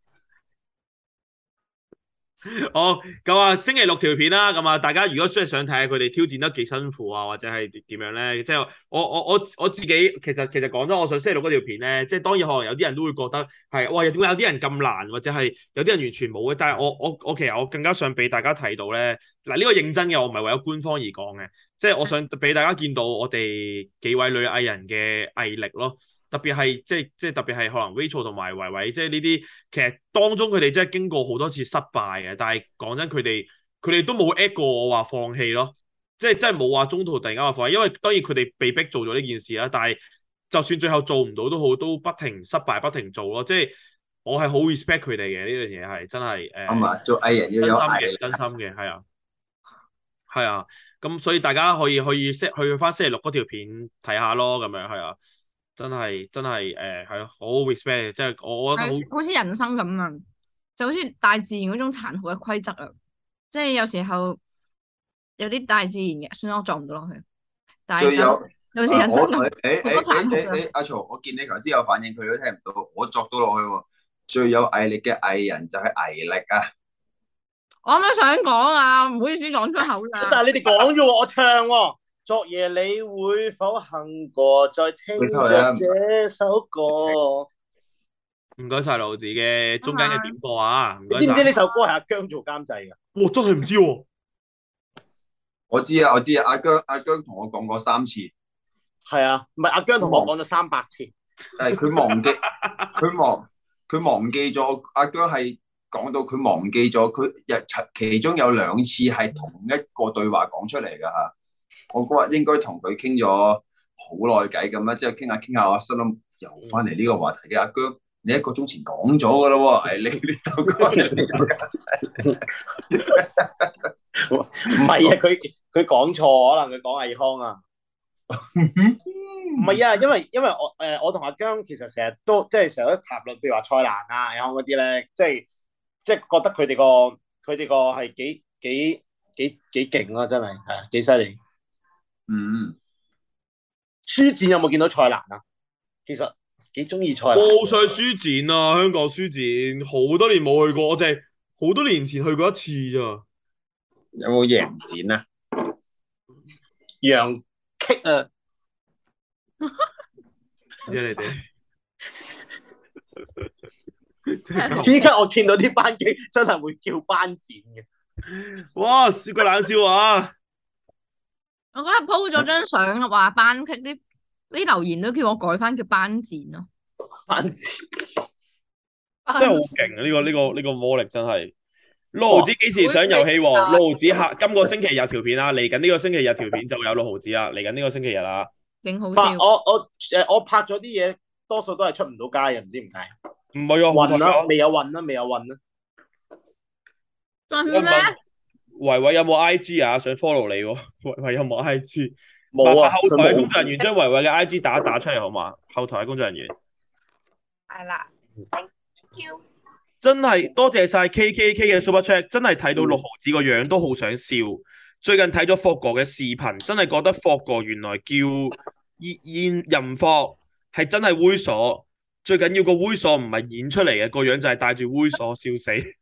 好，咁啊，星期六條片啦，咁啊，大家如果真係想睇下佢哋挑戰得幾辛苦啊，或者係點樣咧，即係我我我我自己其實其實講咗，我上星期六嗰條片咧，即係當然可能有啲人都會覺得係，哇，點解有啲人咁難，或者係有啲人完全冇嘅，但係我我我其實我更加想俾大家睇到咧，嗱，呢個認真嘅，我唔係為咗官方而講嘅，即係我想俾大家見到我哋幾位女藝人嘅毅力咯。特別係即係即係特別係可能 Rachel 同埋維維，即係呢啲其實當中佢哋真係經過好多次失敗嘅，但係講真佢哋佢哋都冇 at 過我話放棄咯，即係真係冇話中途突然間話放棄，因為當然佢哋被逼做咗呢件事啦，但係就算最後做唔到都好，都不停失敗不停做咯，即係我係好 respect 佢哋嘅呢樣嘢係真係誒， 啱啊！做藝人要有毅力， 真心嘅係啊係啊，咁所以大家可以可以去去翻星期六嗰條片睇下咯，咁樣係啊。真係真係誒係咯，好 respect，即係我我覺得好好似人生咁啊，就好似大自然嗰種殘酷嘅規則啊，即係有時候有啲大自然嘅，算啦，我做唔到落去。但係最有好似人生咁， 誒誒誒好多殘酷誒誒，阿曹，我見你頭先有反應，佢都聽唔到，我作到落去喎。最有毅力嘅藝人就係毅力啊！ 我啱啱想講啊，唔好意思講出口啦。 但係你哋講咗喎，我唱喎。昨夜你會否幸過再聽着這首歌？ 唔該晒盧子嘅中間嘅點播啊！唔該你知唔知呢首歌係阿姜做監製㗎？ 哇，真係唔知喎！ 我知啊，我知啊，阿姜阿姜同我講過三次。 係啊，唔係阿姜同我講咗三百次。 誒，佢忘記，佢忘，佢忘記咗。阿姜係講到佢忘記咗，佢日其中有兩次係同一個對話講出嚟㗎嚇。我嗰日應該同佢傾咗好耐偈咁啦，之後傾下傾下，我心諗又翻嚟呢個話題嘅。阿姜，你一個鐘前講咗㗎啦喎，係你呢首歌唔係啊，佢佢講錯，可能佢講魏康啊。唔係啊，因為因為我誒、呃、我同阿姜其實成日都即係成日都談論，譬如話蔡瀾啊、魏康嗰啲咧，即係即係覺得佢哋個佢哋個係幾幾幾幾勁咯，真係係幾犀利。 嗯， 書展有冇見到蔡瀾啊？其實幾中意蔡瀾。 我好想書展啊，香港書展好多年冇去過，我淨係好多年前去過一次咋。 有冇贏展啊？ 楊棘啊！ 知你哋。 依家我見到啲班機真係會叫班展嘅。 哇！說個冷笑話。 我嗰日 po 咗張相話班級啲啲留言都叫我改翻叫班展咯。 班展真係好勁啊！呢、個呢、個呢、個魔力真係。六毫子幾時上遊戲王？六毫子下今個星期日條片啊，嚟緊呢個星期日條片就有六毫子啦，嚟緊呢個星期日啦。 勁好拍笑。 我我誒我拍咗啲嘢，多數都係出唔到街嘅，唔知點解。 唔係啊， 運啦，未有運啦，未有運啦。 真咩？ 維維有冇 I G 啊？想 follow 你喎，維維有冇 I G？ 冇啊， 後台嘅工佢冇。 作人員將維維嘅 I G 打一打出嚟好嘛？後台嘅工作人員。 係啦，thank you。 真係多謝晒 K K K 嘅 Super Chat，真係睇到六毫子個樣都好想笑。最近睇咗霍哥嘅視頻，真係覺得霍哥原來叫現任霍係真係猥瑣。最緊要個猥瑣唔係演出嚟嘅，個樣就係帶住猥瑣，笑死。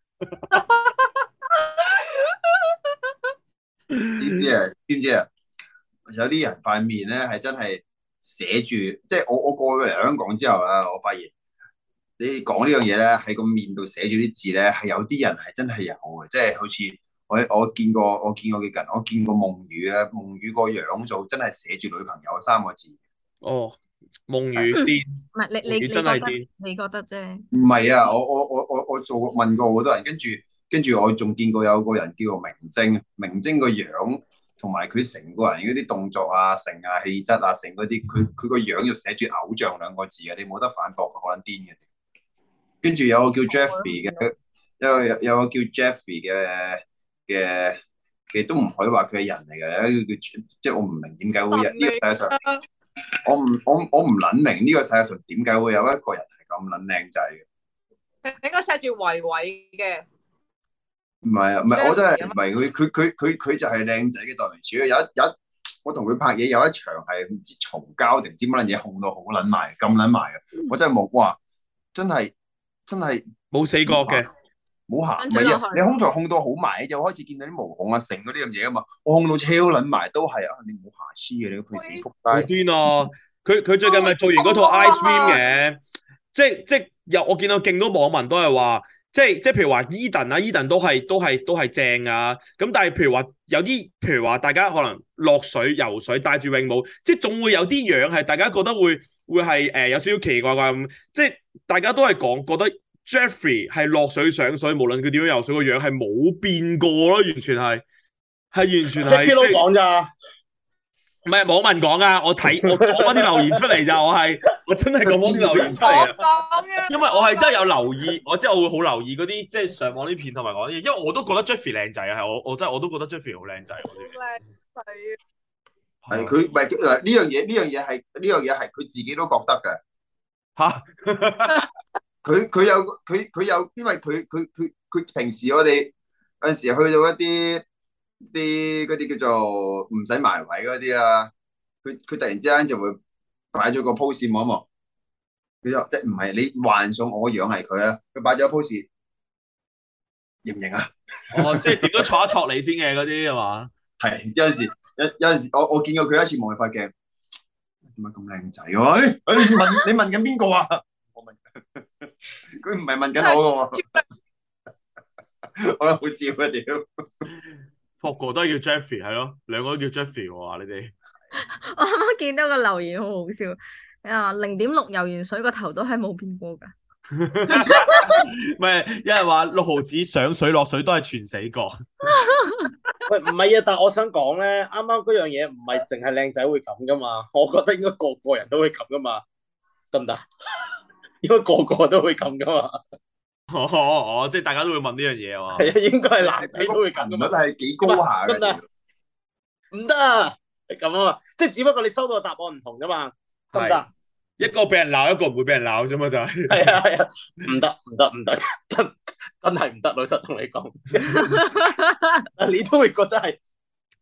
知唔知啊？知唔知啊？有啲人塊面咧係真係寫住，即係我我過咗嚟香港之後啦，我發現你講呢樣嘢咧喺個面度寫住啲字咧，係有啲人係真係有嘅，即係好似我我見過我見過幾近，我見過夢雨啊，夢雨個樣就真係寫住女朋友三個字。 哦，夢雨癲， 唔係你你你覺真係得癲。 你覺得啫？ 唔係啊，我我我我我做過問過好多人，跟住跟住我仲見過有個人叫做明晶，明晶個樣同埋佢成個人嗰啲動作啊、成啊、氣質啊、成嗰啲，佢佢個樣要寫住偶像兩個字嘅，你冇得反駁，好撚癲嘅。跟住有個叫 Jeffrey 嘅，有個有個叫 Jeffrey 嘅嘅，其實都唔可以話佢係人嚟嘅，有一個叫即係我唔明點解會有呢個世界上，我唔我我唔撚明呢個世界上點解會有一個人係咁撚靚仔嘅。 應該寫住維維嘅。 唔係啊，唔係我真係唔係佢佢佢佢佢就係靚仔嘅代名詞。有一有一我同佢拍嘢有一場係唔知嘈交定唔知乜撚嘢，控到好撚埋咁撚埋嘅，我真係冇哇！真係真係冇死角嘅， 冇行唔係啊！你空台控到好埋，就開始見到啲毛孔啊、成嗰啲咁嘢啊嘛。我控到超撚埋都係啊！你冇瑕疵嘅，你個屁死仆好街！ 癲啊！佢佢最近咪做完嗰套 Ice Cream 嘅，即係即係有我見到勁多網民都係話。即係即係譬如話 Eden 啊 ，Eden 都係都係都係正啊。咁但係譬如話有啲譬如話大家可能落水游水戴住泳帽，即係總會有啲樣係大家覺得會會係誒、呃、有少少奇奇怪怪咁。即係大家都係講覺得 Jeffrey 係落水上水，無論佢點樣游水個樣係冇變過咯，完全係係完全係。 Jackie 都講咋？ 唔係網民講啊，我睇我講翻啲留言出嚟咋，我係我真係講翻啲留言出嚟啊！因為我係真係有留意，我即係我會好留意嗰啲即係上網啲片同埋講啲嘢，因為我都覺得 Jeffrey 靚仔啊，係我我真係我都覺得 Jeffrey 好靚仔。 靚仔啊！ 係佢唔係誒呢樣嘢呢樣嘢係呢樣嘢係佢自己都覺得嘅嚇。 佢佢有佢佢有，因為佢佢佢佢平時我哋有陣時去到一啲。啲嗰啲叫做唔使埋位嗰啲啦，佢佢突然之間就會擺咗個 pose 望一望，佢就即係唔係你幻想我樣係佢啦，佢擺咗個 pose，認唔認啊？ 哦，即係點都挫一挫你先嘅嗰啲係嘛？ 係有陣時有有陣時我我見過佢一次望佢塊鏡，點解咁靚仔嘅？誒，你問你問緊邊個啊？我問佢唔係問緊我嘅喎，我覺得好笑啊屌！ 霍哥都係叫 Jeffrey 係咯，兩個都叫 Jeffrey 喎，你哋。 我啱啱見到個留言好好笑，啊零點六游完水個頭都係冇變過㗎。 唔係，有人話六毫子上水落水都係全死角。 喂，唔係啊，但係我想講咧，啱啱嗰樣嘢唔係淨係靚仔會咁噶嘛，我覺得應該個個人都會咁噶嘛，得唔得？應該個個都會咁噶嘛。 哦哦，即係大家都會問呢樣嘢啊嘛。 係啊，應該係男仔都會咁噶嘛。 率係幾高下嘅。 唔得啊，係咁啊嘛，即係只不過你收到嘅答案唔同啫嘛，得唔得？ 一個俾人鬧，一個唔會俾人鬧啫嘛，就係。 係啊係啊，唔得唔得唔得，真真係唔得，老實同你講，你都會覺得係。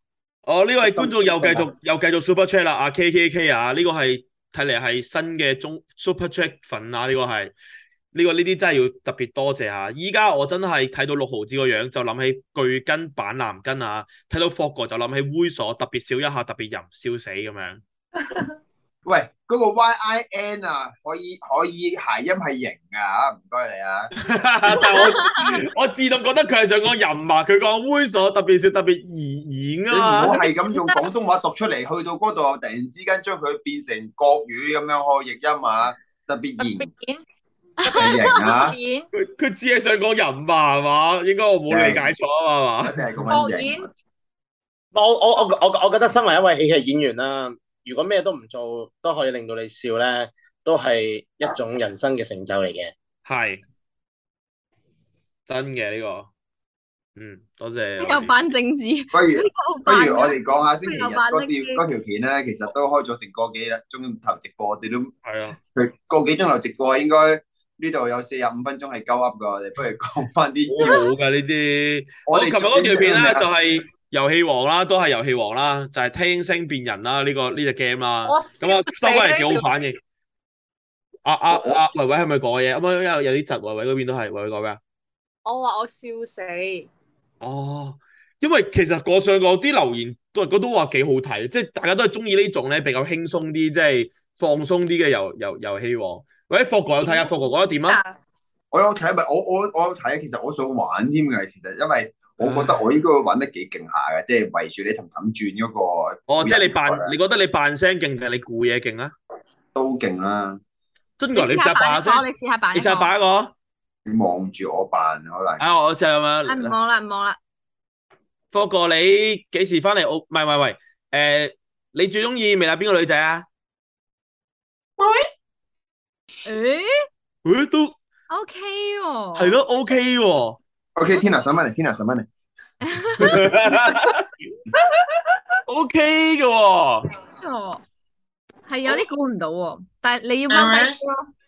哦，呢位觀眾又繼續又繼續 super chat 啦，阿 K K K 啊，呢個係睇嚟係新嘅中 super chat 粉啊，呢個係呢個呢啲真係要特別多謝下。依家我真係睇到六毫子個樣就諗起巨根板藍根啊，睇到霍哥就諗起猥瑣，特別笑一下，特別淫，笑死咁樣。 喂，嗰、個 Y I N 啊，可以可以諧音係型啊，唔該你啊。 但係我我自動覺得佢係想講淫啊，佢講猥瑣，特別笑，特別兒演你唔啊嘛。 好係咁用廣東話讀出嚟，去到嗰度突然之間將佢變成國語咁樣開譯音啊，特別特型別演， 係型啊特別，演， 佢佢只係想講淫吧係嘛？應該我冇理解錯啊嘛一定係咁國樣型演。 我我我我我覺得身為一位喜劇演員啦，如果咩都唔做都可以令到你笑咧，都係一種人生嘅成就嚟嘅。 係真嘅呢個，嗯，多謝。 又扮政治， 不如呢個好不扮嘅如我哋講下星期日又扮嗰政治條嗰條片咧，其實都開咗成個幾鐘頭直播，我哋都係啊， 佢個幾鐘頭直播，應該呢度有四十五分鐘係鳩噏噶，我哋不如講翻啲好好㗎呢啲。 我哋我琴日嗰條片咧最就係遊戲王啦，都係遊戲王啦，就係聽聲變人啦，呢個呢隻 game 啦。 我咁啊，收翻嚟幾笑死好反應。阿阿阿維維係咪講嘢？咁啊有有啲窒，維維嗰邊都係，維維講咩啊？ 我話我笑死， 哦，因為其實我上過啲留言都都都話幾好睇，即係大家都係中意呢種咧比較輕鬆啲，即係放鬆啲嘅遊遊遊戲王。或者霍哥有睇下，霍哥覺得點啊？ 我有睇，咪我我我有睇，其實我想玩添嘅，其實因為我覺得我應該玩得幾勁下嘅，即係圍住你氹氹轉嗰個。 哦，即係你扮，你覺得你扮聲勁定係你估嘢勁啊？ 都勁啦， 真㗎，你試下你試下扮一個， 扮聲， 你試下扮你試下一個。 扮一個。 你望住我扮可能。 啊，我試下咁啊，唔樣。 望啦，唔望啦。 霍哥，你幾時翻嚟澳？唔係唔係唔係，誒，你最中意微辣邊個女仔啊？ 誒誒，都 ，OK 喎。 係咯，OK 喎。 OK，Tina 上翻嚟，Tina 上翻嚟。 OK 嘅喎。 哦，係有啲估唔到喎，但係你要踎低啲咯。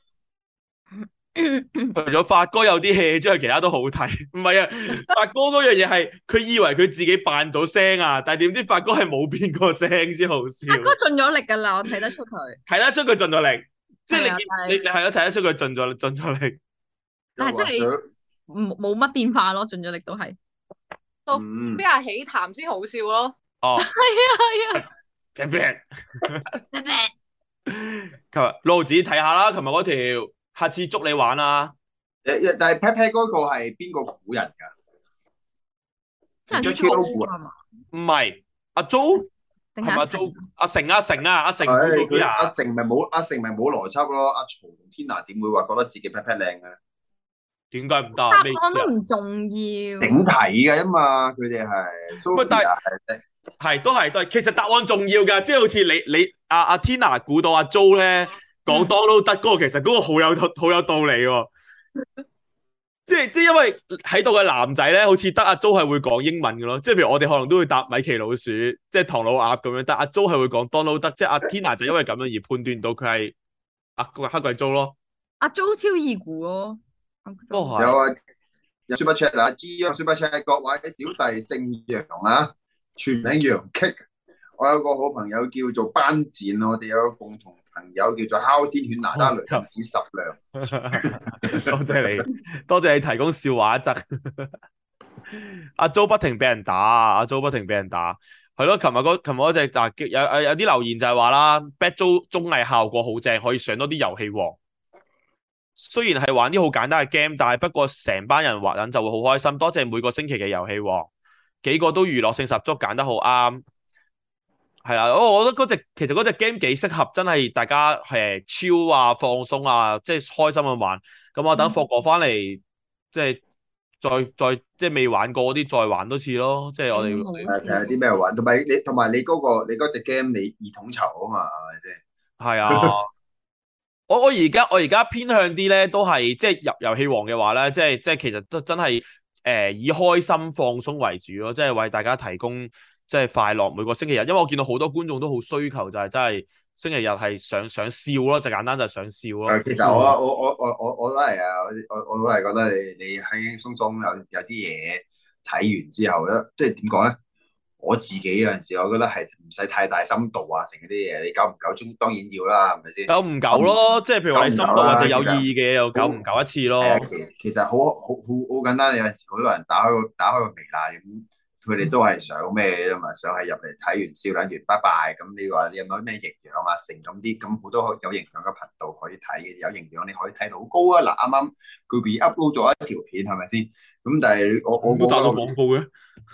除咗發哥有啲 hea 之外，其他都好睇。唔係啊，發哥嗰樣嘢係佢以為佢自己扮到聲啊，但係點知發哥係冇變過聲先好笑。 阿哥盡咗力㗎啦，我睇得出佢。 睇得出佢盡咗力，即係你係啊見但係你你係咯睇得出佢盡咗盡咗力。 但係真係冇冇乜變化咯，盡咗力都係。 到嗯邊下起談先好笑咯。 哦， 係啊係啊。 平平。 拜拜。 琴日六毫子睇下啦，琴日嗰條，下次捉你玩啊！ 誒誒但係 Pat Pat 嗰個係邊個估人㗎？ 真係 Jackie 粗 Lou 啊嘛？ 唔係阿 Jo，係咪阿定係阿成 Jo？阿成阿成啊，阿成估係到邊佢阿啊？ 成咪冇阿成咪冇邏輯咯，阿曹同 Tina 點會話覺得自己 Pat Pat 靚嘅？ 點解唔得啊？ 答咩案都唔重要。 整體嘅嘛，佢哋係。 喂但係 Sophia 係係都係都係，其實答案重要㗎，即係好似你你阿阿 Tina 估到阿 Jo 咧講 Donald 得嗰個，其實嗰個好有好有道理喎。即係即係因為喺度嘅男仔咧，好似得阿 Jo 係會講英文嘅咯，即係譬如我哋可能都會答米奇老鼠，即係唐老鴨咁樣，但阿 Jo 係會講 Donald 得，即係阿 Tina 就因為咁樣而判斷到佢係阿個黑鬼 Jo 咯。 阿 Jo 超易估咯。 都係有啊，有 Super Chat 啦，G 啊 Super Chat，各位小弟姓楊啊，全名楊棘。我有個好朋友叫做班戰，我哋有個共同朋友叫做哮天犬哪吒雷震子十娘。 多謝你，多謝你提供笑話一則。阿 Jo 不停俾人打，阿 Jo 不停俾人打，係咯。琴日嗰琴日嗰隻嗱有有有啲留言就係話啦 ，Bad Jo 綜藝效果好正，可以上多啲遊戲王。雖然係玩啲好簡單嘅 game，但係不過成班人玩緊就會好開心。多謝每個星期嘅遊戲王，幾個都娛樂性十足，揀得好啱。係啊，我我覺得嗰隻其實嗰隻 game 幾適合，真係大家誒超啊放鬆啊，即係開心咁玩。咁我等霍哥翻嚟，即係再再即係未玩過嗰啲再玩多次咯。即係我哋誒睇下啲咩玩，同埋你同埋你嗰個你嗰隻 game 你二統籌啊嘛，係咪先？ 係啊。我我而家我而家偏向啲咧，都係即係入遊戲王嘅話咧，即係即係其實都真係誒、呃、以開心放鬆為主咯，即係為大家提供即係快樂每個星期日，因為我見到好多觀眾都好需求，就係真係星期日係想想笑咯，就簡單就係想笑咯。 其實我我我我我我都係啊，我我我都係覺得你你輕輕鬆鬆有有啲嘢睇完之後咧，即係點講咧？ 我自己有陣時，我覺得係唔使太大深度啊，成嗰啲嘢，你久唔久中當然要啦，係咪先？ 久唔久咯，即係譬如話你深度或者有意義嘅嘢，又久唔久一次咯。 係啊，其其實好好好好簡單，有陣時好多人打開個打開個微辣咁，佢哋都係想咩啫嘛，想係入嚟睇完笑撚完拜拜。咁你話你有冇咩營養啊？成咁啲咁好多有營養嘅頻道可以睇嘅，有營養你可以睇到好高啊！嗱，啱啱佢 be upload 咗一條片係咪先？咁但係我我都打到我廣告嘅，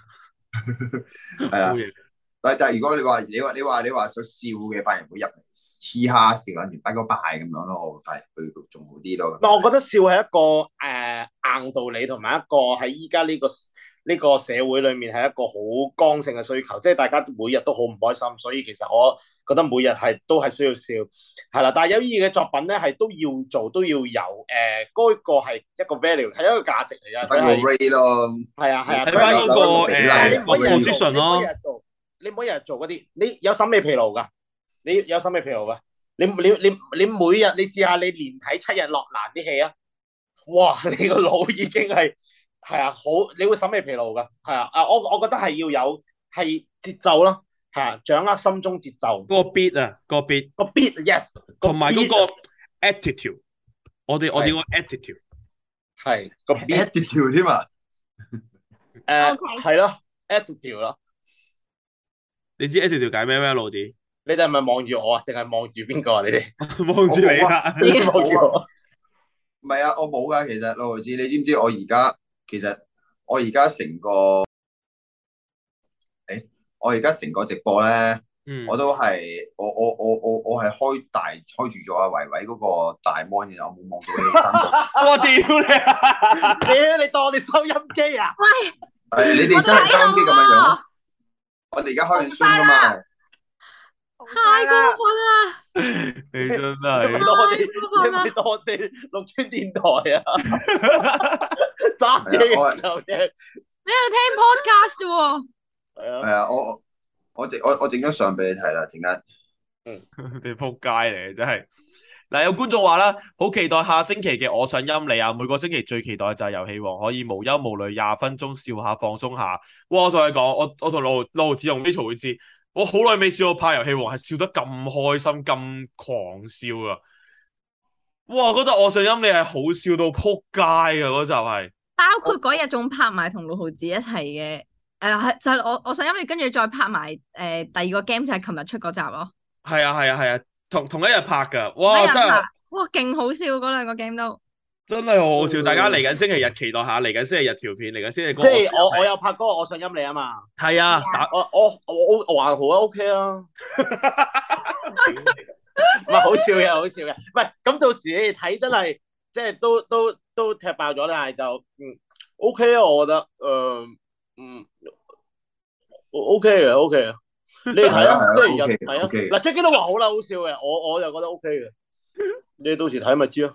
係啊。但但係如果你話你話你話你話想笑嘅，反而會入嚟嘻哈笑撚完拜個拜咁樣咯，我係佢仲好啲咯。 我覺得笑係一個誒、呃、硬道理，同埋一個喺依家呢個呢、這個社會裏面係一個好剛性嘅需求，即係大家每日都好唔開心，所以其實我覺得每日係都係需要笑，係啦。但係有意義嘅作品咧，係都要做，都要有誒，嗰、呃那個係一個 value，係一個價值嚟嘅。 睇個 rate 咯， 係啊係啊， 睇翻嗰個誒你每日 position 咯。 你每日做嗰啲，你有審美疲勞㗎，你有審美疲勞㗎。你你你你每日你試下你連睇七日落蘭啲戲啊，哇！你個腦已經係係啊，好你會審美疲勞㗎，係啊啊！我我覺得係要有係節奏咯，係啊，掌握心中節奏。 嗰個 beat 啊，個 beat 個 beat yes， 同埋嗰個 attitude，我哋我哋個 attitude 係個 attitude 添啊， 誒係咯 attitude 咯。 你知 attitude 解咩咩老弟？ 你哋係咪望住我啊？定係望住邊個啊？你哋望住你啊！ 你望住我。 唔係啊，我冇噶。其實六毫子，你知唔知我而家其實我而家成個誒、欸，我而家成個直播咧， 嗯、 我都係我我我我我係開大開住咗阿維維嗰個大 mon 嘅，我冇望到你三個。 我屌你啊！ 屌你當我哋收音機啊？ 喂， 係你哋真係收音機咁樣樣。我哋而家開緊 Zoom 噶嘛？ 太過分啦！ 你真你係咪當我哋，你咪當我哋綠村電台啊！揸車嘅時候嘅， 你喺度聽 podcast 啫喎。 係啊， 係啊，我我整我我整張相俾你睇啦，陣間。 嗯，你仆街嚟，真係。嗱，有觀眾話啦，好期待下星期嘅我想陰你啊！每個星期最期待就係遊戲王可以無憂無慮廿分鐘笑下放鬆下。哇！我同你講，我我同六六毫子同 Rachel 會知，我好耐未試過拍遊戲王係笑得咁開心咁狂笑啊！哇！嗰集我想陰你係好笑到仆街啊！嗰集係包括嗰日仲拍埋同六毫子一齊嘅，誒係就係我我想陰你，跟住再拍埋誒、呃、第二個 game 就係琴日出嗰集咯。 係啊係啊係啊，同同一日拍㗎，哇真係哇勁好笑嗰兩個 game 都真係好好笑，大家嚟緊星期日期待下，嚟緊星期日條片，嚟緊星期即係我我有拍嗰個我想陰你啊嘛。 係啊，打我我我我話好啊 OK 啊，唔係好笑嘅好笑嘅，唔係咁到時你哋睇真係即係都都都踢爆咗，但係就嗯 OK 啊，我覺得誒嗯 OK 嘅 OK 嘅。你哋睇啊，星期日睇啊。嗱 Jackie 都話好啦，好笑嘅，我我就覺得 OK 嘅。你到時睇咪知咯。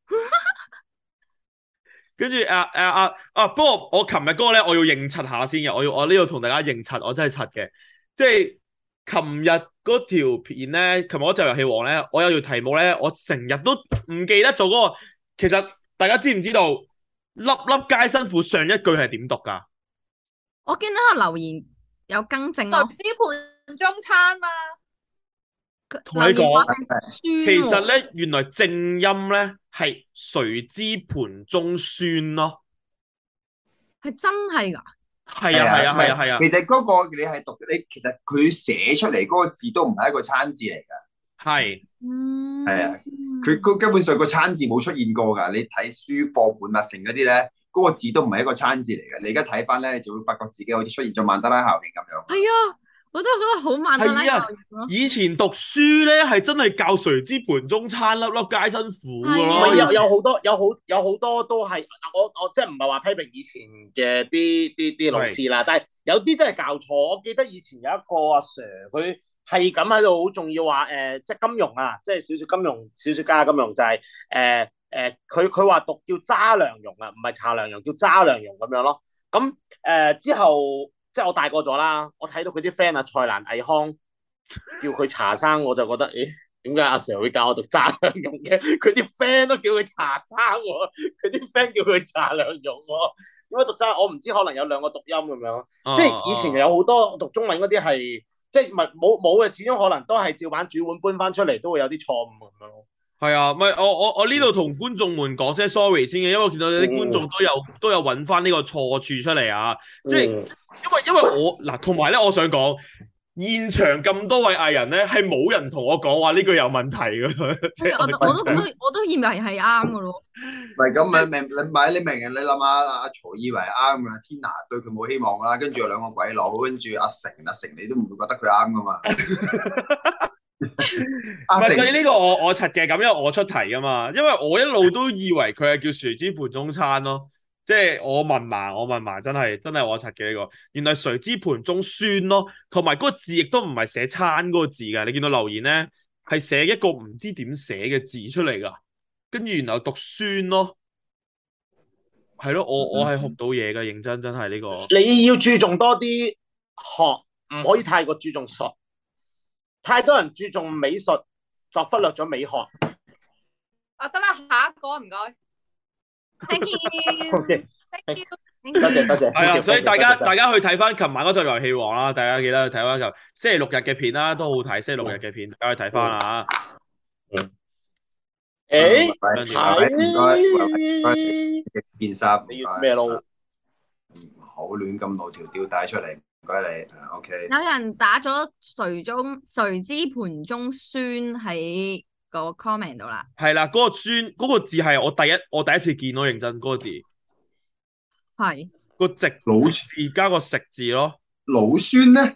跟住啊啊啊啊！不過我琴日嗰個咧，我要認柒下先嘅，我要我呢度同大家認柒，我真係柒嘅。即係琴日嗰條片咧，琴日嗰條遊戲王咧，我有條題目咧，我成日都唔記得做嗰個。其實大家知唔知道粒粒皆辛苦上一句係點讀㗎？ 我見到個留言有更正咯。 誰知盤中餐嘛？ 同你講，其實咧咧，原來正音咧係誰知盤中酸咯， 係真係㗎。 係啊係啊係啊係啊。 其實嗰個你係讀你，其實佢寫出嚟嗰個字都唔係一個餐字嚟㗎。 係， 嗯， 係啊，佢佢根本上個餐字冇出現過㗎。你睇書課本啊，成嗰啲咧，嗰個字都唔係一個餐字嚟嘅。你而家睇翻咧，你就會發覺自己好似出現咗曼德拉效應咁樣。 係啊。我都覺得好慢係啊！以前讀書咧係真係教誰知盤中餐，粒粒皆辛苦㗎咯。 有有好多有好有好多都係我我即係唔係話批評以前嘅啲啲啲老師啦，但係有啲真係教錯。我記得以前有一個阿 Sir，佢係咁喺度好重要話誒、呃，即係金融啊，即係少少金融，少少加金融就係誒誒，佢佢話讀叫揸良蓉啊，唔係查良蓉，叫揸良蓉咁樣咯。咁誒、呃、之後。即係我大個咗啦，我睇到佢啲 friend 啊，蔡瀾、倪匡叫佢茶生，我就覺得，誒點解阿 Sir 會教我讀揸良蓉嘅？佢啲 friend 都叫佢茶生喎，佢啲 friend 叫佢茶良蓉喎， 點解讀真？我唔知，可能有兩個讀音咁樣。 哦即係以前有好多讀中文嗰啲係，即係唔係冇冇嘅，始終可能都係照版煮碗搬翻出嚟，都會有啲錯誤咁樣咯。 係啊，唔係我我我呢度同觀眾們講聲 sorry 先嘅，因為我見到有啲觀眾都有都有揾翻呢個錯處出嚟啊！即係因為因為我嗱，同埋咧，我想講現場咁多位藝人咧，係冇人同我講話呢句有問題嘅。即係我都我都我都我都以為係啱嘅咯。 唔係咁咪明你咪你明嘅，你諗下阿曹以為啱㗎，Tina 對佢冇希望㗎啦，跟住有兩個鬼佬，跟住阿成阿成你都唔會覺得佢啱㗎嘛？ 唔係，所以呢個我我柒嘅，咁因為我出題噶嘛，因為我一路都以為佢係叫誰知盤中餐咯，即係我問埋我問埋，真係真係我柒嘅呢個，原來誰知盤中酸咯，同埋嗰個字亦都唔係寫餐嗰個字噶，你見到留言咧係寫一個唔知點寫嘅字出嚟噶，跟住然後讀酸咯，係咯，我我係學到嘢噶，認真真係呢個。 你要注重多啲學，唔可以太過注重術。太多人注重美術，就忽略咗美學。 啊，得啦，下一個唔該。 Thank you。 OK， Thank you。 多謝多謝。 係啊，所以大家多謝大家去睇翻琴晚嗰集遊戲王啦，大家記得去睇翻就星期六日嘅片啦，都好睇。星期六日嘅片，大家去睇翻啊。 嗯。誒， 唔該唔該，件衫你要咩咯？ 唔好亂咁露條吊帶出嚟，唔該你。OK。 有人打咗誰中誰知盤中酸喺個 comment 度啦。 係啦，嗰、那個酸嗰、那個字係我第一我第一次見咯，認真嗰、那個字。 係。 個直老字加個食字咯。 老酸咧？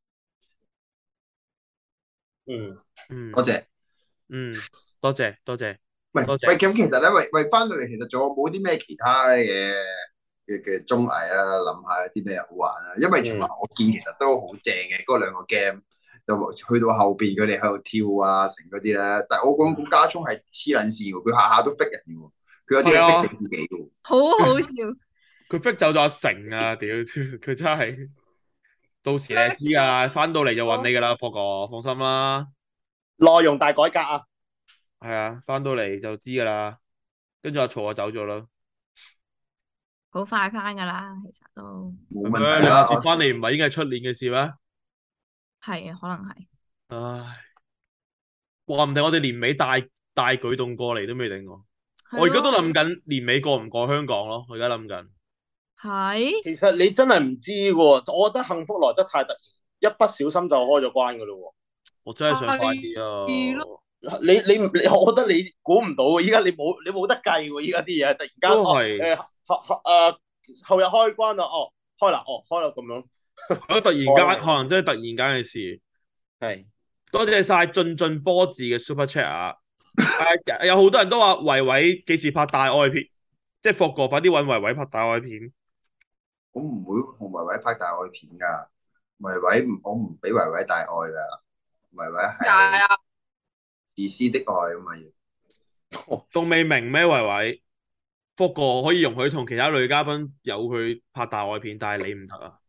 嗯嗯。 多謝。 嗯，多謝多謝。 喂多謝喂，咁其實咧，喂喂，翻到嚟其實仲有冇啲咩其他嘅嘅嘅綜藝啊？諗下有啲咩好玩啊？因為尋日我見其實都好正嘅嗰兩個 game，就去到後邊佢哋喺度跳啊，成嗰啲咧。但係我講估家聰係黐撚線喎，佢下下都 fit 人嘅喎，佢有啲係 fit 死自己嘅喎。 好好笑。 佢 fit 走咗阿成啊！屌，佢真係到時你知啊，翻到嚟就揾你噶啦，霍哥，放心啦。 內容大改革啊！ 係啊，翻到嚟就知噶啦。跟住阿曹就走咗啦。 好快翻噶啦，其實都冇問題啦。 接翻嚟唔係應該係出年嘅事咩？ 係啊，可能係。 唉，話唔定我哋年尾大大舉動過嚟都未定喎。我而家都諗緊年尾過唔過香港咯，我而家諗緊。 係。 其實你真係唔知喎，我覺得幸福來得太突然，一不小心就開咗關噶咯喎。 我真係想快啲啊！ 你你你，我覺得你估唔到喎，依家你冇你冇得計喎，依家啲嘢突然間都係誒後誒後日開關啦，哦開啦，哦開啦咁樣。 我突然間可能真係突然間嘅事。 係多謝晒進進波字嘅 super chat 啊！誒有好多人都話維維幾時拍大愛片，即係霍哥快啲揾維維拍大愛片。 我唔會同維維拍大愛片㗎，維維唔我唔俾維維大愛㗎，維維係自私的愛咁嘛要。 仲未明咩維維？霍哥可以容許同其他女嘉賓有佢拍大愛片，但係你唔得啊！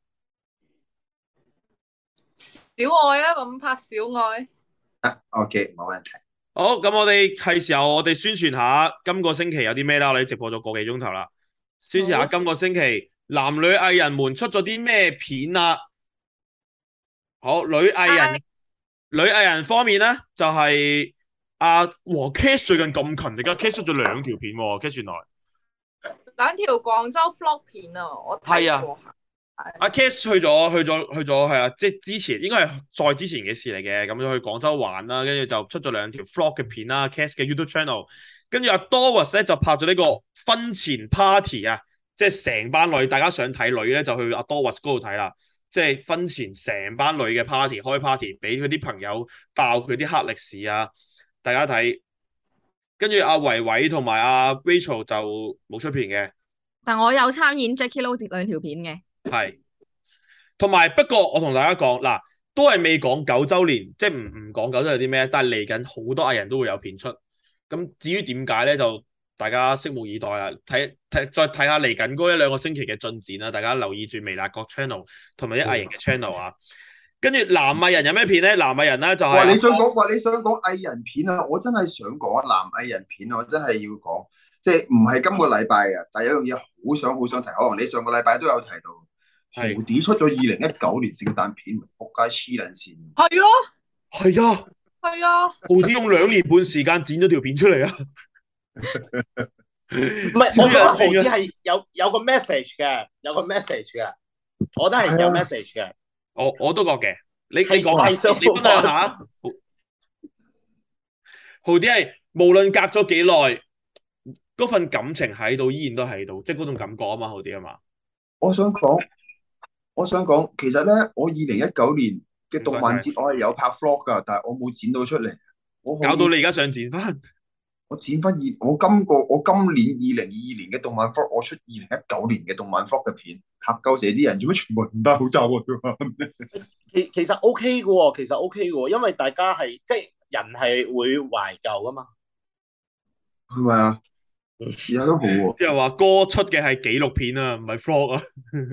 小愛啊，咁拍小愛。 啊 OK 冇問題。 好，咁我哋係時候我哋宣傳下今個星期有啲咩啦，我哋直播咗個幾鐘頭啦，宣傳下今個星期男女藝人們出咗啲咩片啊？好，女藝人女藝人方面咧就係阿和 Cash 最近咁勤力㗎 ，Cash 出咗兩條片喎 ，Cash 原來兩條廣州 vlog 片啊，我睇過下。 阿 Cash 去咗去咗去咗係啊，即係之前應該係再之前嘅事嚟嘅，咁就去廣州玩啦，跟住就出咗兩條 vlog 嘅片啦 ，Cash 嘅 YouTube channel， 跟住阿 Doris 咧就拍咗呢個婚前 party 啊，即係成班女，大家想睇女咧就去阿 Doris 嗰度睇啦，即係婚前成班女嘅 party 開 party，俾佢啲朋友爆佢啲黑歷史啊，大家睇，跟住阿維維同埋阿 Rachel 就冇出片嘅， 但我有參演 Jackie Lou 兩條片嘅。 係，同埋不過我同大家講嗱，都係未講九週年，即係唔唔講九週年啲咩，但係嚟緊好多藝人都會有片出。咁至於點解咧，就大家拭目以待啦。睇睇再睇下嚟緊嗰一兩個星期嘅進展啦，大家留意住微辣國 channel 同埋啲藝人嘅 channel 啊。跟住男藝人有咩片咧？男藝人咧就係、 哇！你想講哇？你想講藝人片啊？我真係想講男藝人片啊！我真係要講即係唔係今個禮拜嘅，但係有樣嘢好想好想提，可能你上個禮拜都有提到，豪係啲出咗二零一九年聖誕片，仆街黐撚線。 係咯， 係啊， 係啊， 豪啲用兩年半時間剪咗條片出嚟啊！ 唔係，我覺得豪啲係有有個 message 嘅，有個 message 嘅，我覺得係有 message 嘅。 我我都覺嘅，你你係講下， 係想你分享下。豪豪啲係無論隔咗幾耐，嗰份感情喺度，依然都喺度，即係嗰種感覺啊嘛，豪啲啊嘛。 我想講，我想講，其實咧，我二零一九年嘅動漫節我係有拍 vlog 噶，但係我冇剪到出嚟。我可以搞到你而家想剪翻， 我剪翻二，我今個我今年二零二二年嘅動漫 vlog，我出二零一九年嘅動漫 vlog 嘅片，嚇鳩死啲人，做咩全部唔戴口罩啊？ 其其實 OK 嘅喎，其實 OK 嘅喎，因為大家係即係人係會懷舊噶嘛。 係咪啊？而家都好喎。 即係話歌出嘅係紀錄片啊，唔係 vlog 啊。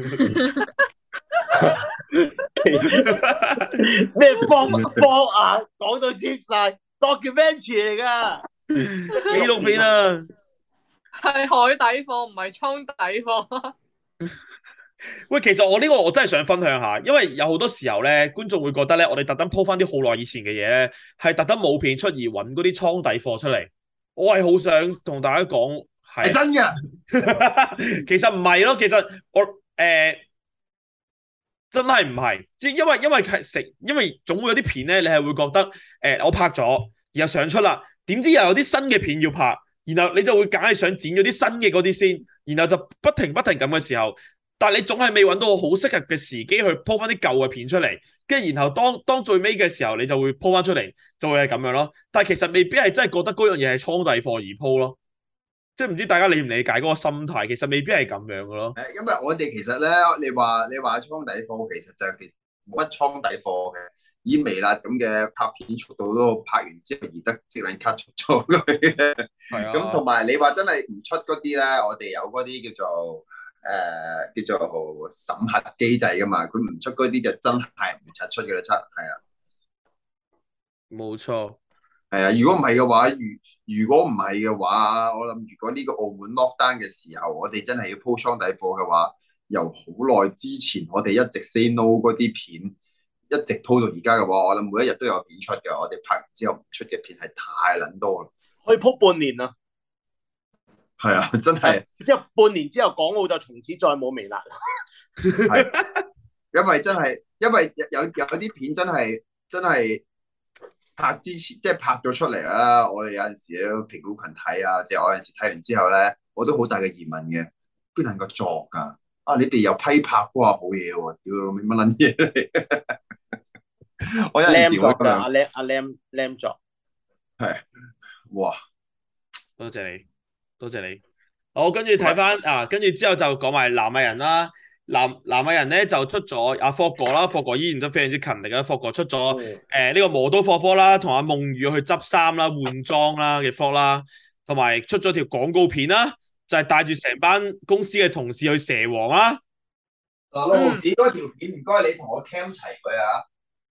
咩方方啊？講到接晒 documentary 嚟噶， 紀錄片啊！ 係海底貨，唔係倉底貨。 喂，其實我呢個我真係想分享下，因為有好多時候咧，觀眾會覺得咧，我哋特登 po 翻啲好耐以前嘅嘢咧，係特登冇片出而揾嗰啲倉底貨出嚟。我係好想同大家講，係係真嘅。 其實唔係咯，其實我誒、呃、真係唔係，即係因為因為係食，因為總會有啲片咧，你係會覺得誒、呃、我拍咗，然後上出啦，點知又有啲新嘅片要拍，然後你就會梗係想剪咗啲新嘅嗰啲先，然後就不停不停咁嘅時候。但係你總係未揾到好適合嘅時機去 po 翻啲舊嘅片出嚟，跟住然後當當最尾嘅時候，你就會 po 翻出嚟，就會係咁樣咯。但係其實未必係真係覺得嗰樣嘢係倉底貨而 po 咯，即係唔知大家理唔理解嗰個心態，其實未必係咁樣嘅咯。 誒，因為我哋其實咧，你話你話倉底貨，其實就其實冇乜倉底貨嘅。以微辣咁嘅拍片速度都拍完之後而得即能 cut 出咗佢嘅。 係啊。 咁同埋你話真係唔出嗰啲咧，我哋有嗰啲叫做。誒、呃、叫做審核機制噶嘛，佢唔出嗰啲就真係唔出嘅啦，出係啊， 冇錯， 係啊。如果唔係嘅話，如如果唔係嘅話，我諗如果呢個澳門 lockdown 嘅時候，我哋真係要鋪倉底貨嘅話，由好耐之前我哋一直 say no 嗰啲片，一直鋪到而家嘅話，我諗每一日都有片出嘅。我哋拍完之後唔出嘅片係太撚多啦， 可以鋪半年啊！ 係啊，真係。 之後半年之後，港澳就從此再冇微辣啦。 係，因為真係，因為有有啲片真係真係拍之前，即係拍咗出嚟啦。我哋有陣時都評估群睇啊，即係我有陣時睇完之後咧，我都好大嘅疑問嘅，邊能夠作㗎？啊，你哋有批拍嗰下好嘢喎，屌你乜撚嘢嚟？我有陣時會咁樣。 阿 Lam 阿 Lam Lam 作係，哇！ 多謝你。多謝你，好，跟住睇翻啊，跟住之後就講埋南亞人啦。南南亞人咧就出咗阿霍哥啦，霍哥依然都非常之勤力啦。霍哥出咗誒呢個磨刀霍科啦，同阿夢雨去執衫啦、換裝啦嘅 vlog 啦，同埋出咗條廣告片啦，就係帶住成班公司嘅同事去蛇王啦。 嗱，六毫子嗰條片唔該你同我 cam 齊佢啊！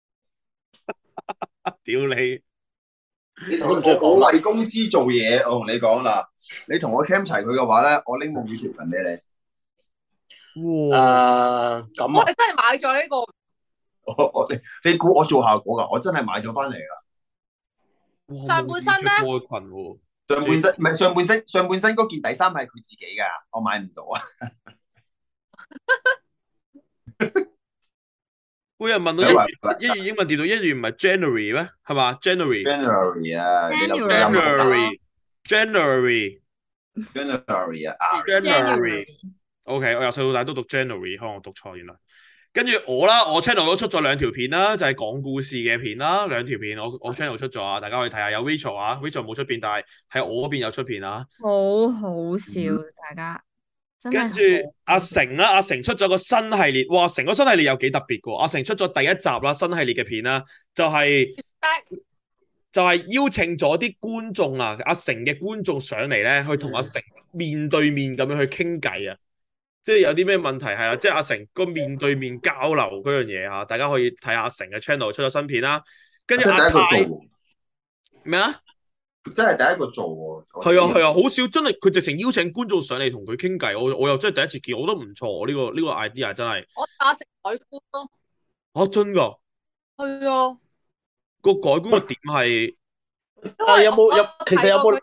屌你！ 你同我我為公司做嘢，我同你講啦，你同我 cam 齊佢嘅話咧，我拎夢雨條裙俾你。 哇！咁我啊， 哋真係買咗呢個。 我我你你估我做效果噶？我真係買咗翻嚟噶。 上半身咧？ 裙喎， 上半身唔係上半身，上半身嗰件底衫係佢自己噶，我買唔到啊。 會有人問到一月一月英文調到一月唔係 January 咩？係嘛 ？January。 January 啊 ，January。January。 January 啊 ，January。OK， 我由細到大都讀 January，可能我讀錯原來。跟住我啦，我 channel 都出咗兩條片啦，就係、是、講故事嘅片啦，兩條片我我 channel 出咗啊，大家可以睇下。有 Rachel 啊 ，Rachel 冇出片，但係喺我嗰邊有出片啊。 好好笑，嗯、大家。 跟住阿成啦，阿成出咗個新系列，哇！成個新系列有幾特別嘅，阿成出咗第一集啦，新系列嘅片啦，就係、是、就係、是、邀請咗啲觀眾啊，阿成嘅觀眾上嚟咧，去同阿成面對面咁樣去傾偈啊，即係有啲咩問題係啦，即係阿成個面對面交流嗰樣嘢啊，大家可以睇下阿成嘅 channel 出咗新片啦，跟住阿泰咩啊？ 真係第一個做喎。 係啊係啊，好少真係佢直情邀請觀眾上嚟同佢傾偈，我我又真係第一次見，我覺得唔錯，呢、這個呢、這個 idea 真係。 我打食海觀咯。 嚇真㗎？ 係啊。 個改觀嘅點係， 啊有冇有其實有冇？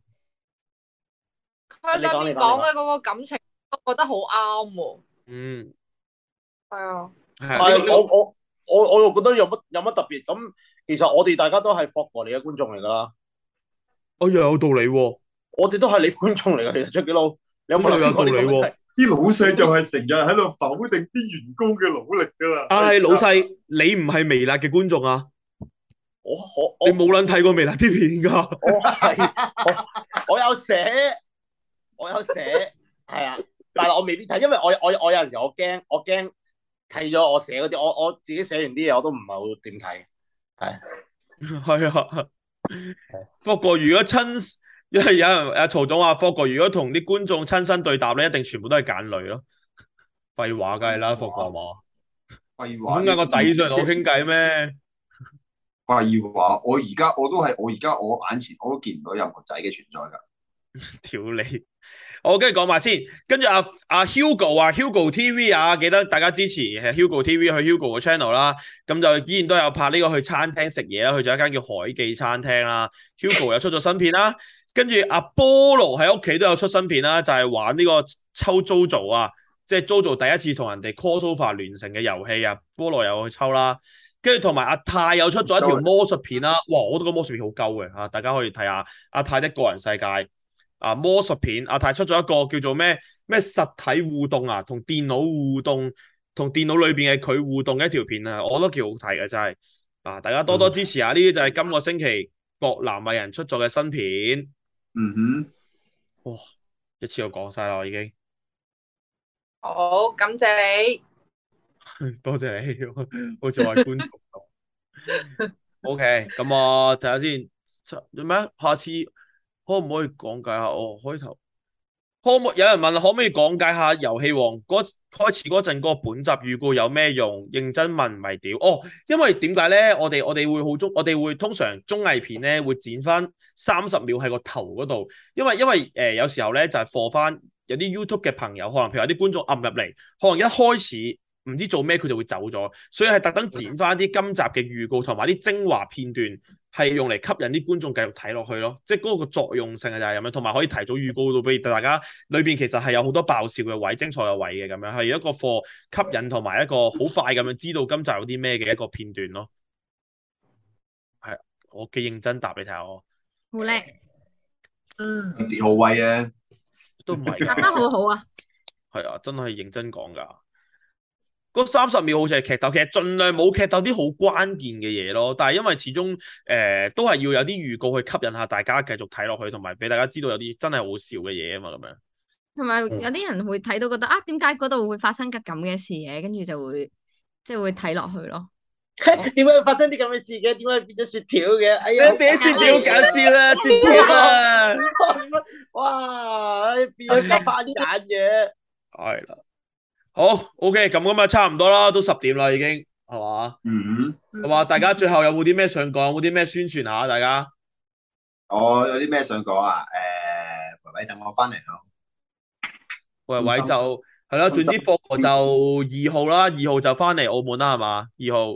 佢裏面講嘅嗰個感情，我覺得好啱喎。 嗯， 係啊。 但係我我我我又覺得有乜有乜特別咁？其實我哋大家都係霍哥你嘅觀眾嚟㗎啦。 哎呀，有道理喎！ 我哋都係你觀眾嚟㗎，其實出幾佬，你有冇有道理喎？ 啲老細就係成日喺度否定啲員工嘅努力㗎啦。 但係老細，你唔係微辣嘅觀眾啊？ 我我你冇撚睇過微辣啲片㗎？ 我係我我有寫，我有寫，係啊，但係我未必睇，因為我我我有陣時我驚我驚睇咗我寫嗰啲，我我自己寫完啲嘢我都唔係好點睇，係係啊。霍哥如果親，因為有人阿曹總話霍哥如果同啲觀眾親身對答咧，一定全部都係揀女咯。廢話梗係啦，霍哥嘛。 廢話。 點解個仔上嚟同我傾偈咩？ 廢話，我而家我都係我而家我眼前我都見唔到任何仔嘅存在㗎。 屌你！我跟住講埋先，跟住阿阿 Hugo 啊 ，Hugo T V 啊，記得大家支持係 Hugo T V 去 Hugo 個 channel 啦。咁就依然都有拍呢個去餐廳食嘢啦，去咗一間叫海記餐廳啦。Hugo 又出咗新片啦，跟住阿菠蘿喺屋企都有出新片啦，就係、是、玩呢個抽 Jojo 啊，即係 Jojo 第一次同人哋 crossover 聯成嘅遊戲啊，菠蘿有去抽啦。跟住同埋阿泰又出咗一條魔術片啦，哇！我覺得個魔術片好鳩嘅嚇，大家可以睇下阿泰的個人世界。啊魔術片，阿泰出咗一個叫做咩咩實體互動啊，同電腦互動，同電腦裏邊嘅佢互動嘅一條片啊，我覺得幾好睇嘅真係。啊，大家多多支持下，呢啲就係今個星期各男藝人出咗嘅新片。 嗯哼， 哇，一次就講晒啦，我已經。 好，感謝你。 多謝你，好似我係觀眾咁。OK，咁我睇下先，做咩？下次可唔可以講解下？哦，開頭可唔可有人問可唔可以講解下遊戲王嗰開始嗰陣嗰個本集預告有咩用？認真問唔係屌哦，因為點解咧？我哋我哋會好中，我哋會通常綜藝片咧會剪翻三十秒喺個頭嗰度，因為因為誒、呃、有時候咧就係放翻有啲 YouTube 嘅朋友，可能譬如有啲觀眾撳入嚟，可能一開始唔知做咩佢就會走咗，所以係特登剪翻啲今集嘅預告同埋啲精華片段，係用嚟吸引啲觀眾繼續睇落去咯，即係嗰個作用性就係咁樣，同埋可以提早預告到俾大家，裏邊其實係有好多爆笑嘅位、精彩嘅位嘅咁樣，係一個課吸引同埋一個好快咁樣知道今集有啲咩嘅一個片段咯。係，我幾認真答你睇下我。 好叻， 嗯， 自豪威啊， 都唔係。 答得好好啊。 係啊，真係認真講㗎。嗰三十秒好似係劇透，其實盡量冇劇透啲好關鍵嘅嘢咯。但係因為始終誒、呃、都係要有啲預告去吸引下大家繼續睇落去，同埋俾大家知道有啲真係好笑嘅嘢啊嘛咁樣。 同埋有啲人會睇到覺得啊，點解嗰度會發生嘅咁嘅事嘅，跟住就會即係會睇落去咯。 點解會發生啲咁嘅事嘅？點解變咗雪條嘅？哎呀， 變咗雪條好搞笑啦，雪條啊！ 哇，變咗咁翻眼嘅。 係啦。好 ，OK，咁咁啊，差唔多啦，都十點啦，已經係嘛？ 嗯， 係嘛？大家最後有冇啲咩想講？有冇啲咩宣傳下？大家， 我有啲咩想講啊？誒，維維等我翻嚟咯。 維維就係啦，總之霍哥就二號啦，二號就翻嚟澳門啦，係嘛？二號。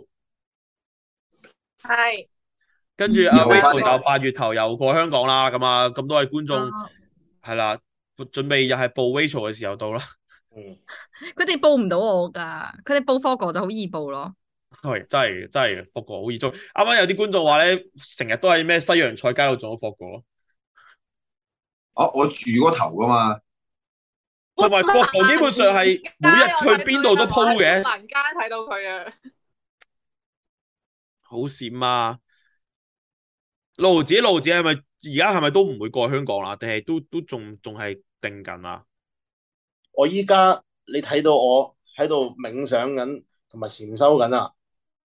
係。 跟住阿 Rachel 就八月頭又過香港啦，咁啊，咁多位觀眾係啦，準備又係報 Rachel 嘅時候到啦。 嗯， 佢哋報唔到我噶，佢哋報霍哥就好易報咯。 係真係真係霍哥好易中。啱啱有啲觀眾話咧，成日都喺咩西洋菜街度撞到霍哥咯。 哦，我住嗰頭噶嘛。 同埋霍哥基本上係每日去邊度都 po 嘅。 蘭街睇到佢啊！ 好閃啊！路子路子係咪而家係咪都唔會過香港啦？定係都都仲仲係定緊啊？ 我依家你睇到我喺度冥想緊，同埋禪修緊啊！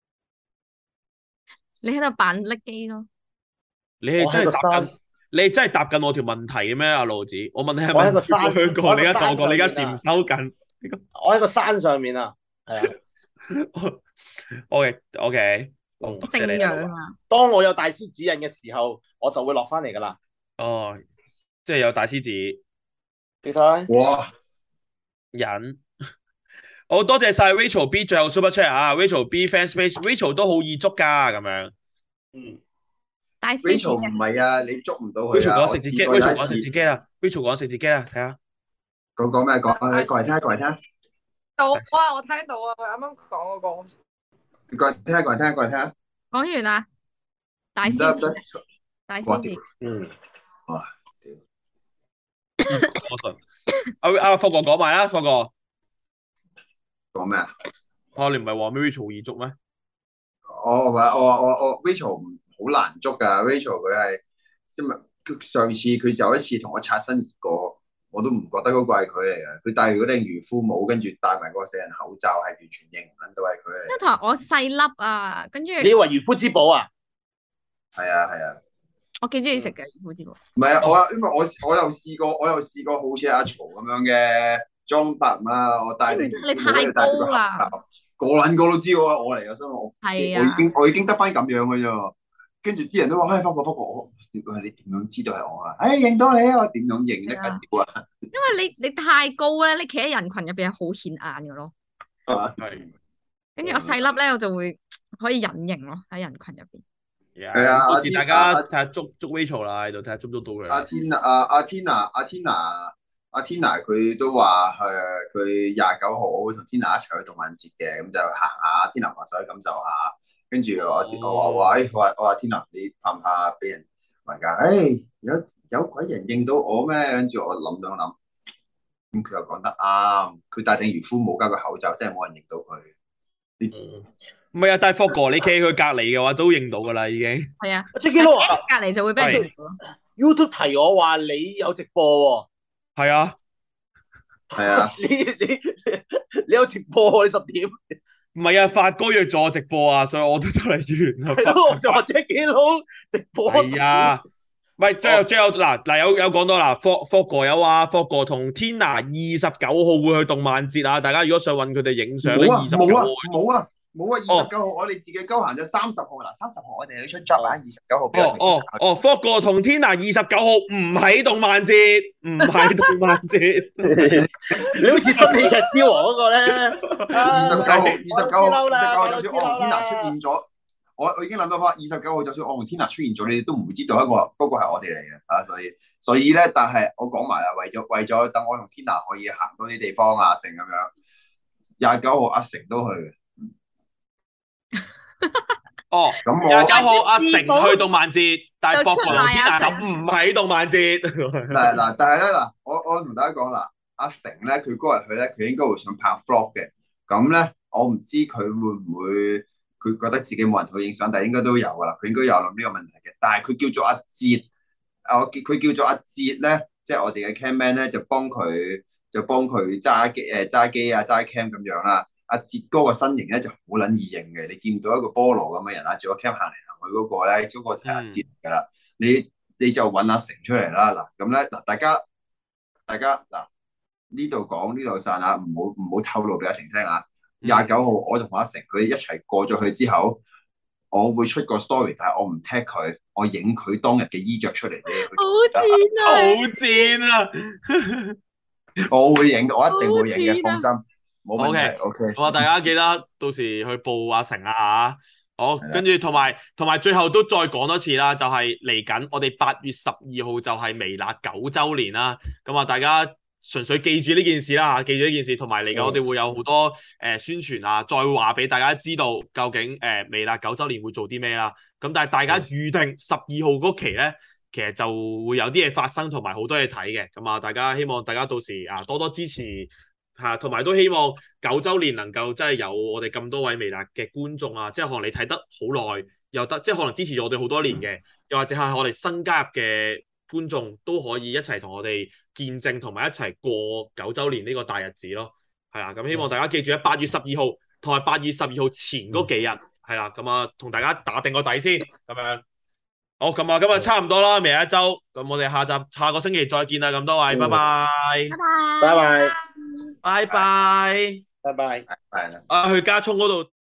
你喺度扮拎機咯？ 你係真係答緊，你係真係答緊我條問題嘅咩？阿路子，我問你係咪我喺個山香港？你而家同我講，你而家我喺個山禪修緊。 我喺個山上面啊，係啊。 OK OK， 哦， 正即係你啦樣啊！ 當我有大師指引嘅時候，我就會落翻嚟噶啦。 哦，即係有大獅子你睇， 哇！ 人。好多謝晒 Rachel B 最後 Super Chat 啊，Rachel B fans page，Rachel 都好易捉㗎咁樣。 嗯， 大師 Rachel 唔係啊，你捉唔到佢 Rachel 啊！我講食自己，Rachel 試過有一次， 講食自己啦，Rachel 講食自己啦，睇下。 講講咩講？過嚟聽下，過嚟聽下， 到啊，我聽到啊，佢啱啱講嗰個。 過嚟聽下，過嚟聽下，過嚟聽下。 講完啦，大唔得師唔得，哇屌！ 大師字嗯， 哇我信。阿阿霍哥講埋啦，霍哥。 講咩啊？ 哦，你唔係話咩 Rachel 易捉咩？ 我話我話我我 Rachel 唔好難捉㗎，Rachel 佢係因為佢上次佢就一次同我擦身而過，我都唔覺得嗰個係佢嚟嘅。佢戴住嗰頂漁夫帽，跟住戴埋個死人口罩，係完全認唔撚到係佢嚟因為同埋我細粒啊，跟住你以為漁夫之寶啊？ 係啊係啊， 我幾中意食嘅魚夫之寶。 唔係啊，我因為我我又試過，我又試過好似阿曹咁樣嘅裝扮啊，我戴頂你太高啦， 個撚個都知我係我嚟嘅，所以我係啊我已經我已經得翻咁樣嘅啫。跟住啲人都話：，唉，不過不過我，你點樣知道係我啊？唉，認到你啊！我點樣認得緊屌啊？ 因為你你太高咧，你企喺人群入邊係好顯眼嘅咯。 係。 跟住我細粒咧，我就會可以隱形咯喺人群入邊。 係啊到時大家睇下捉捉 Rachel 啦，喺度睇下捉唔捉到佢。 阿天阿阿 Tina 阿 Tina 阿 Tina 佢都話誒，佢廿九號會同 Tina 一齊去動漫節嘅，咁就行下 Tina 話想去感受下。跟住我我話喂，我話我話 Tina 你怕唔怕俾人圍㗎？誒有有鬼人認到我咩？跟住我諗兩諗，咁佢又講得啱，佢戴頂漁夫帽加個口罩，真係冇人認到佢。 嗯，唔係啊，但係霍哥你企喺佢隔離嘅話都認到㗎啦，已經。 係啊， Jackie Lou 啊隔離就會俾人認到咯。 YouTube 提我話你有直播喎。 係啊， 係啊， 你你你有直播喎？你十點？ 唔係啊，發哥約咗我直播啊，所以我都就嚟完啦。 係咯，我就話 Jackie Lou直播。 係啊，唔係最後最後嗱嗱有有講到啦，霍霍哥有話霍哥同 Tina 二十九號會去動漫節啊，大家如果想揾佢哋影相咧， 冇啊二十九號冇啊冇啊，二十九號我哋自己鳩行就三十號嗱，三十號我哋去出 job 啊，二十九號俾我哦哦哦，霍哥同 Tina 二十九號唔喺動漫節，唔喺動漫節。 你好似新喜劇之王嗰個咧， 二十九號，二十九號， 我知啦二十九號，就算我同我知啦 Tina 出現咗，我我已經諗到翻，二十九號就算我同 Tina 出現咗，你哋都唔會知道一個嗰個係我哋嚟嘅啊，所以所以咧，但係我講埋啦，為咗為咗等我同 Tina 可以行多啲地方啊，成咁樣，廿九號阿成都去嘅。 哦， 咁廿九我號阿成去動漫節，但係霍哥同就出賣阿 Tina 就唔喺動漫節。 嗱嗱，但係咧嗱，我我同大家講啦，阿成咧佢嗰日去咧，佢應該會想拍 vlog 嘅。咁咧，我唔知佢會唔會佢覺得自己冇人同佢影相，但係應該都有噶啦。佢應該有諗呢個問題嘅。但係佢叫做阿哲，我叫佢叫做阿哲咧，即係我哋嘅 camman 咧，就幫佢就幫佢揸機誒揸機啊揸 cam 咁樣啦。阿哲哥個身形咧就好撚易認嘅，你見唔到一個菠蘿咁嘅人啦，做個 cam 行嚟行去嗰個咧，嗰個就係阿哲噶啦。你你就揾阿成出嚟啦。嗱咁咧嗱，大家大家嗱呢度講呢度散啊，唔好唔好透露俾阿成聽啊。廿九號我同阿成佢一齊過咗去之後，我會出個 story，但係我唔 tag 佢，我影佢當日嘅衣着出嚟俾你去。 好賤啊！ 好賤啊！ 我會影，我一定會影嘅，放好心，冇問題。O K， 好啊，大家記得到時去報阿成啊嚇。好， 係啦跟住同埋同埋最後都再講多次啦，就係嚟緊我哋八月十二號就係微辣九週年啦。咁啊，大家純粹記住呢件事啦嚇，記住呢件事，同埋嚟緊我哋會有好多誒、呃、宣傳啊，再話俾大家知道究竟誒、呃、微辣九週年會做啲咩啦。咁但係大家預定十二號嗰期咧，其實就會有啲嘢發生，同埋好多嘢睇嘅。咁啊，大家希望大家到時啊多多支持嚇，同埋都希望九週年能夠真係有我哋咁多位微辣嘅觀眾啊，即係可能你睇得好耐又得，即係可能支持咗我哋好多年嘅，又或者係我哋新加入嘅觀眾都可以一齊同我哋見證同埋一齊過九週年呢個大日子咯。係啊，咁希望大家記住喺八月十二號同埋八月十二號前嗰幾日係啦，咁啊同大家打定個底先咁樣。好，咁啊，今日差唔多啦，微辣一周，咁我哋下集下個星期再見啦，咁多位，拜拜， 拜拜。 拜拜拜拜， 拜拜。 係啦。 啊，去加葱嗰度。